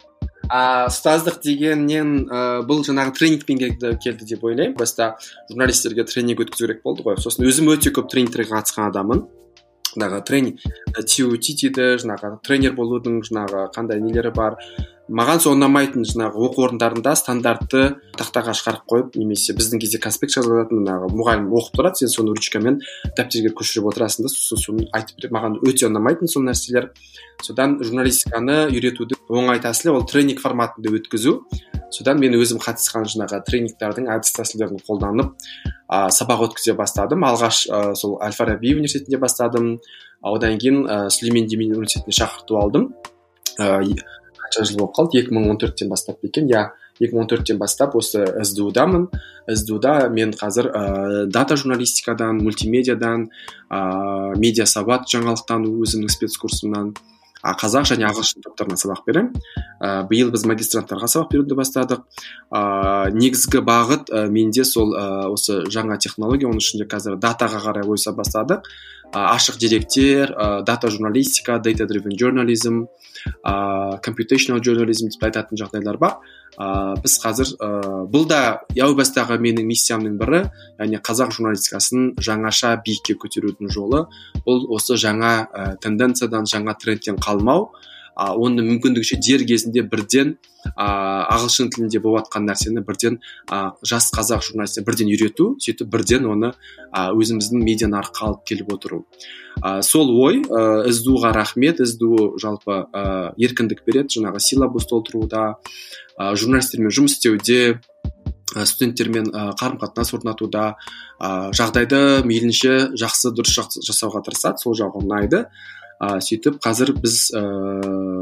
Ұстаздық дегеннен бұл жаңағы тренингпен келді деп ойлаймын. Баста журналистерге тренинг өткізу керек болды ғой. Сосын өзім өте көп тренингтерге қатысқан адамын. Тренинг TUT дейді, тренер болудың қандай нелері бар. Маған сол ұнамайтын оқу орындарында стандартты тақтаға шығарып қойып, немесе біздің кезде конспект жазылатын мұғалім оқып тұрады, сен соны ручкамен дәптерге көшіріп отырасың да, соны айтып береді. Маған өте ұнамайтын сол нәрселер. Содан журналистиканы үйретудің оңай тәсілі ол тренинг форматында өткізу. Содан мен өзім қатысқан тренингтердің әдіс тәсілдерін қолданып сабақ өткізе бастадым. Алғаш сол Әл-Фараби университетінде бастадым. Одан кейін Сүлеймен Демирел университетіне шақырту алдым. Қанша жыл болып қалды? 2014-тен бастап екен. 2014-тен бастап осы СДУ-дамын. СДУ-да мен қазір дата журналистикадан, мультимедиадан, медиа сауат жаңалықтану өзімнің спецкурсымнан қазақ және ағылшын топтарына сабақ беремін. Биыл біз магистранттарға сабақ беруді бастадық. Негізгі бағыт менде сол осы жаңа технология, оның ішінде қазір датаға қарай ойыса бастадық. Ашық деректер, дата журналистика, data driven journalism, computational journalism деп айтатын жағдайлар бар. Біз қазір бұл да яу бастағы менің миссиямның бірі, яғни қазақ журналистикасын жаңаша биікке көтерудің жолы. Бұл осы жаңа тенденциядан, жаңа трендтен қалмау, оны мүмкіндікше дер кезінде бірден ағылшын тілінде болып жатқан нәрсені бірден жас қазақ журналистіне бірден үйрету, сөйтіп бірден оны өзіміздің медиа нарыққа алып келіп отыру. Сол ой СДУ-ға рахмет. СДУ жалпы еркіндік береді, жаңағы силабус толтыруда, журналистермен жұмыс істеуде, студенттермен қарым-қатынас орнатуда, жағдайды мейлінше жақсы дұрыс жасауға тырысады, сол жағы ұнайды. Сөйтіп қазір біз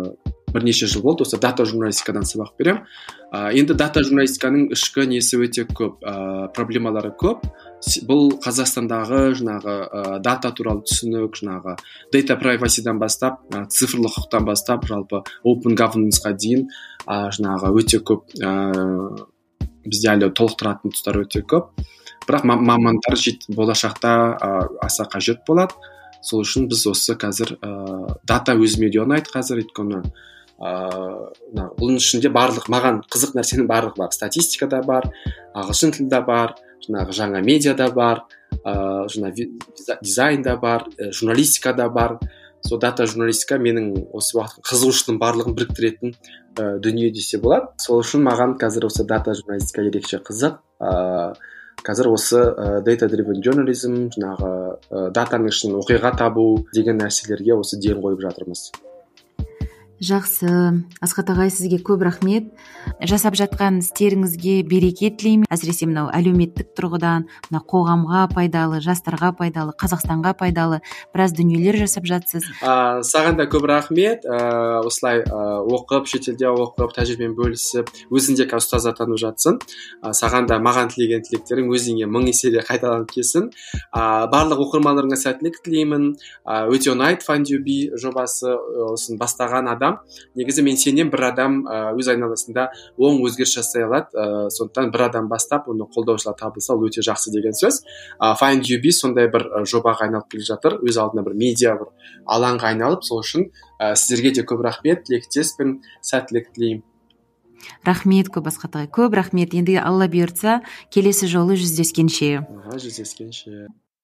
бірнеше жыл болды осы дата журналистикадан сабақ беремін. Енді дата журналистиканың ішкі несі өте көп, проблемалары көп. Бұл Қазақстандағы жаңағы дата туралы түсінік, жаңағы data privacy-дан бастап, цифрлық құқықтан бастап, жалпы open governance-қа дейін жаңағы өте көп, бізде әлі толықтыратын тұстар өте көп. Бірақ мамандар болашақта аса қажет болады. Сол үшін біз осы қазір дата өзіме де ұнайды қазір, өйткені бұның ішінде маған қызық нәрсенің барлығы бар. Статистика да бар, ағылшын тілі да бар, жаңағы жаңа медиа да бар, жаңа дизайн да бар, журналистика да бар. Сол дата журналистика менің осы уақыт қызығушылығым барлығын біріктіретін дүние десе болады. Сол үшін маған қазір осы дата журналистика ерекше қызық. Қазір осы data driven journalism, жаңағы датаның ішінен оқиға табу деген нәрселерге осы ден қойып жатырмыз. Жақсы, Асхат ағай, сізге көп рахмет. Жасап жатқан істеріңізге береке тілеймін. Әсіресе мынау әлеуметтік тұрғыдан, мына қоғамға пайдалы, жастарға пайдалы, Қазақстанға пайдалы біраз дүниелер жасап жатсыз. Саған да көп рахмет. Осылай оқып, шетелде оқып, тәжірибемен бөлісіп, өзің де ұстаз атанып жатсың. Саған да маған тілеген тілектерің өзіңе 1000 еселе қайталанып келсін. Барлық оқырмандарыңа сәттілік тілеймін. Өте ұнайды FindUbi жобасы, осын бастаған адам. Негізі мен сенен бір адам өз айналасында оң өзгеріс жасай алады. Сондықтан бір адам бастап, оны қолдаушылар табылса, ол өте жақсы деген сөз. FindUbi сондай бір жобаға айналып келе жатыр. Өз алдына бір медиа бір алаңға айналып, сол үшін сіздерге де көп рахмет, тілектеспін, сәттілік тілеймін. Рахмет көп, Асхат ағай, көп рахмет. Енді Алла бұйыртса, келесі жолы жүздескенше. Жүздескенше.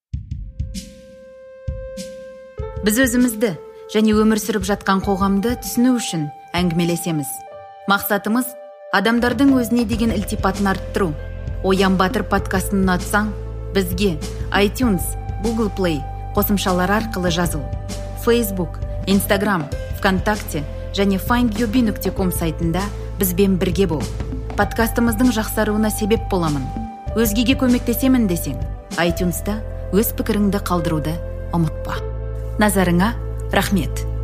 Біз өзімізді және өмір сүріп жатқан қоғамды түсіну үшін әңгімелесеміз. Мақсатымыз адамдардың өзіне деген ілтипатын арттыру. Оян Батыр подкастын ұнатсаң, бізге iTunes, Google Play қосымшалары арқылы жазыл. Facebook, Instagram, ВКонтакте және findyubi.com сайтында бізбен бірге бол. Подкастымыздың жақсаруына себеп боламын. Өзгеге көмектесемін десең, iTunes'та өз пікіріңді қалдыруды ұмытпа. Назарыңа рахмет.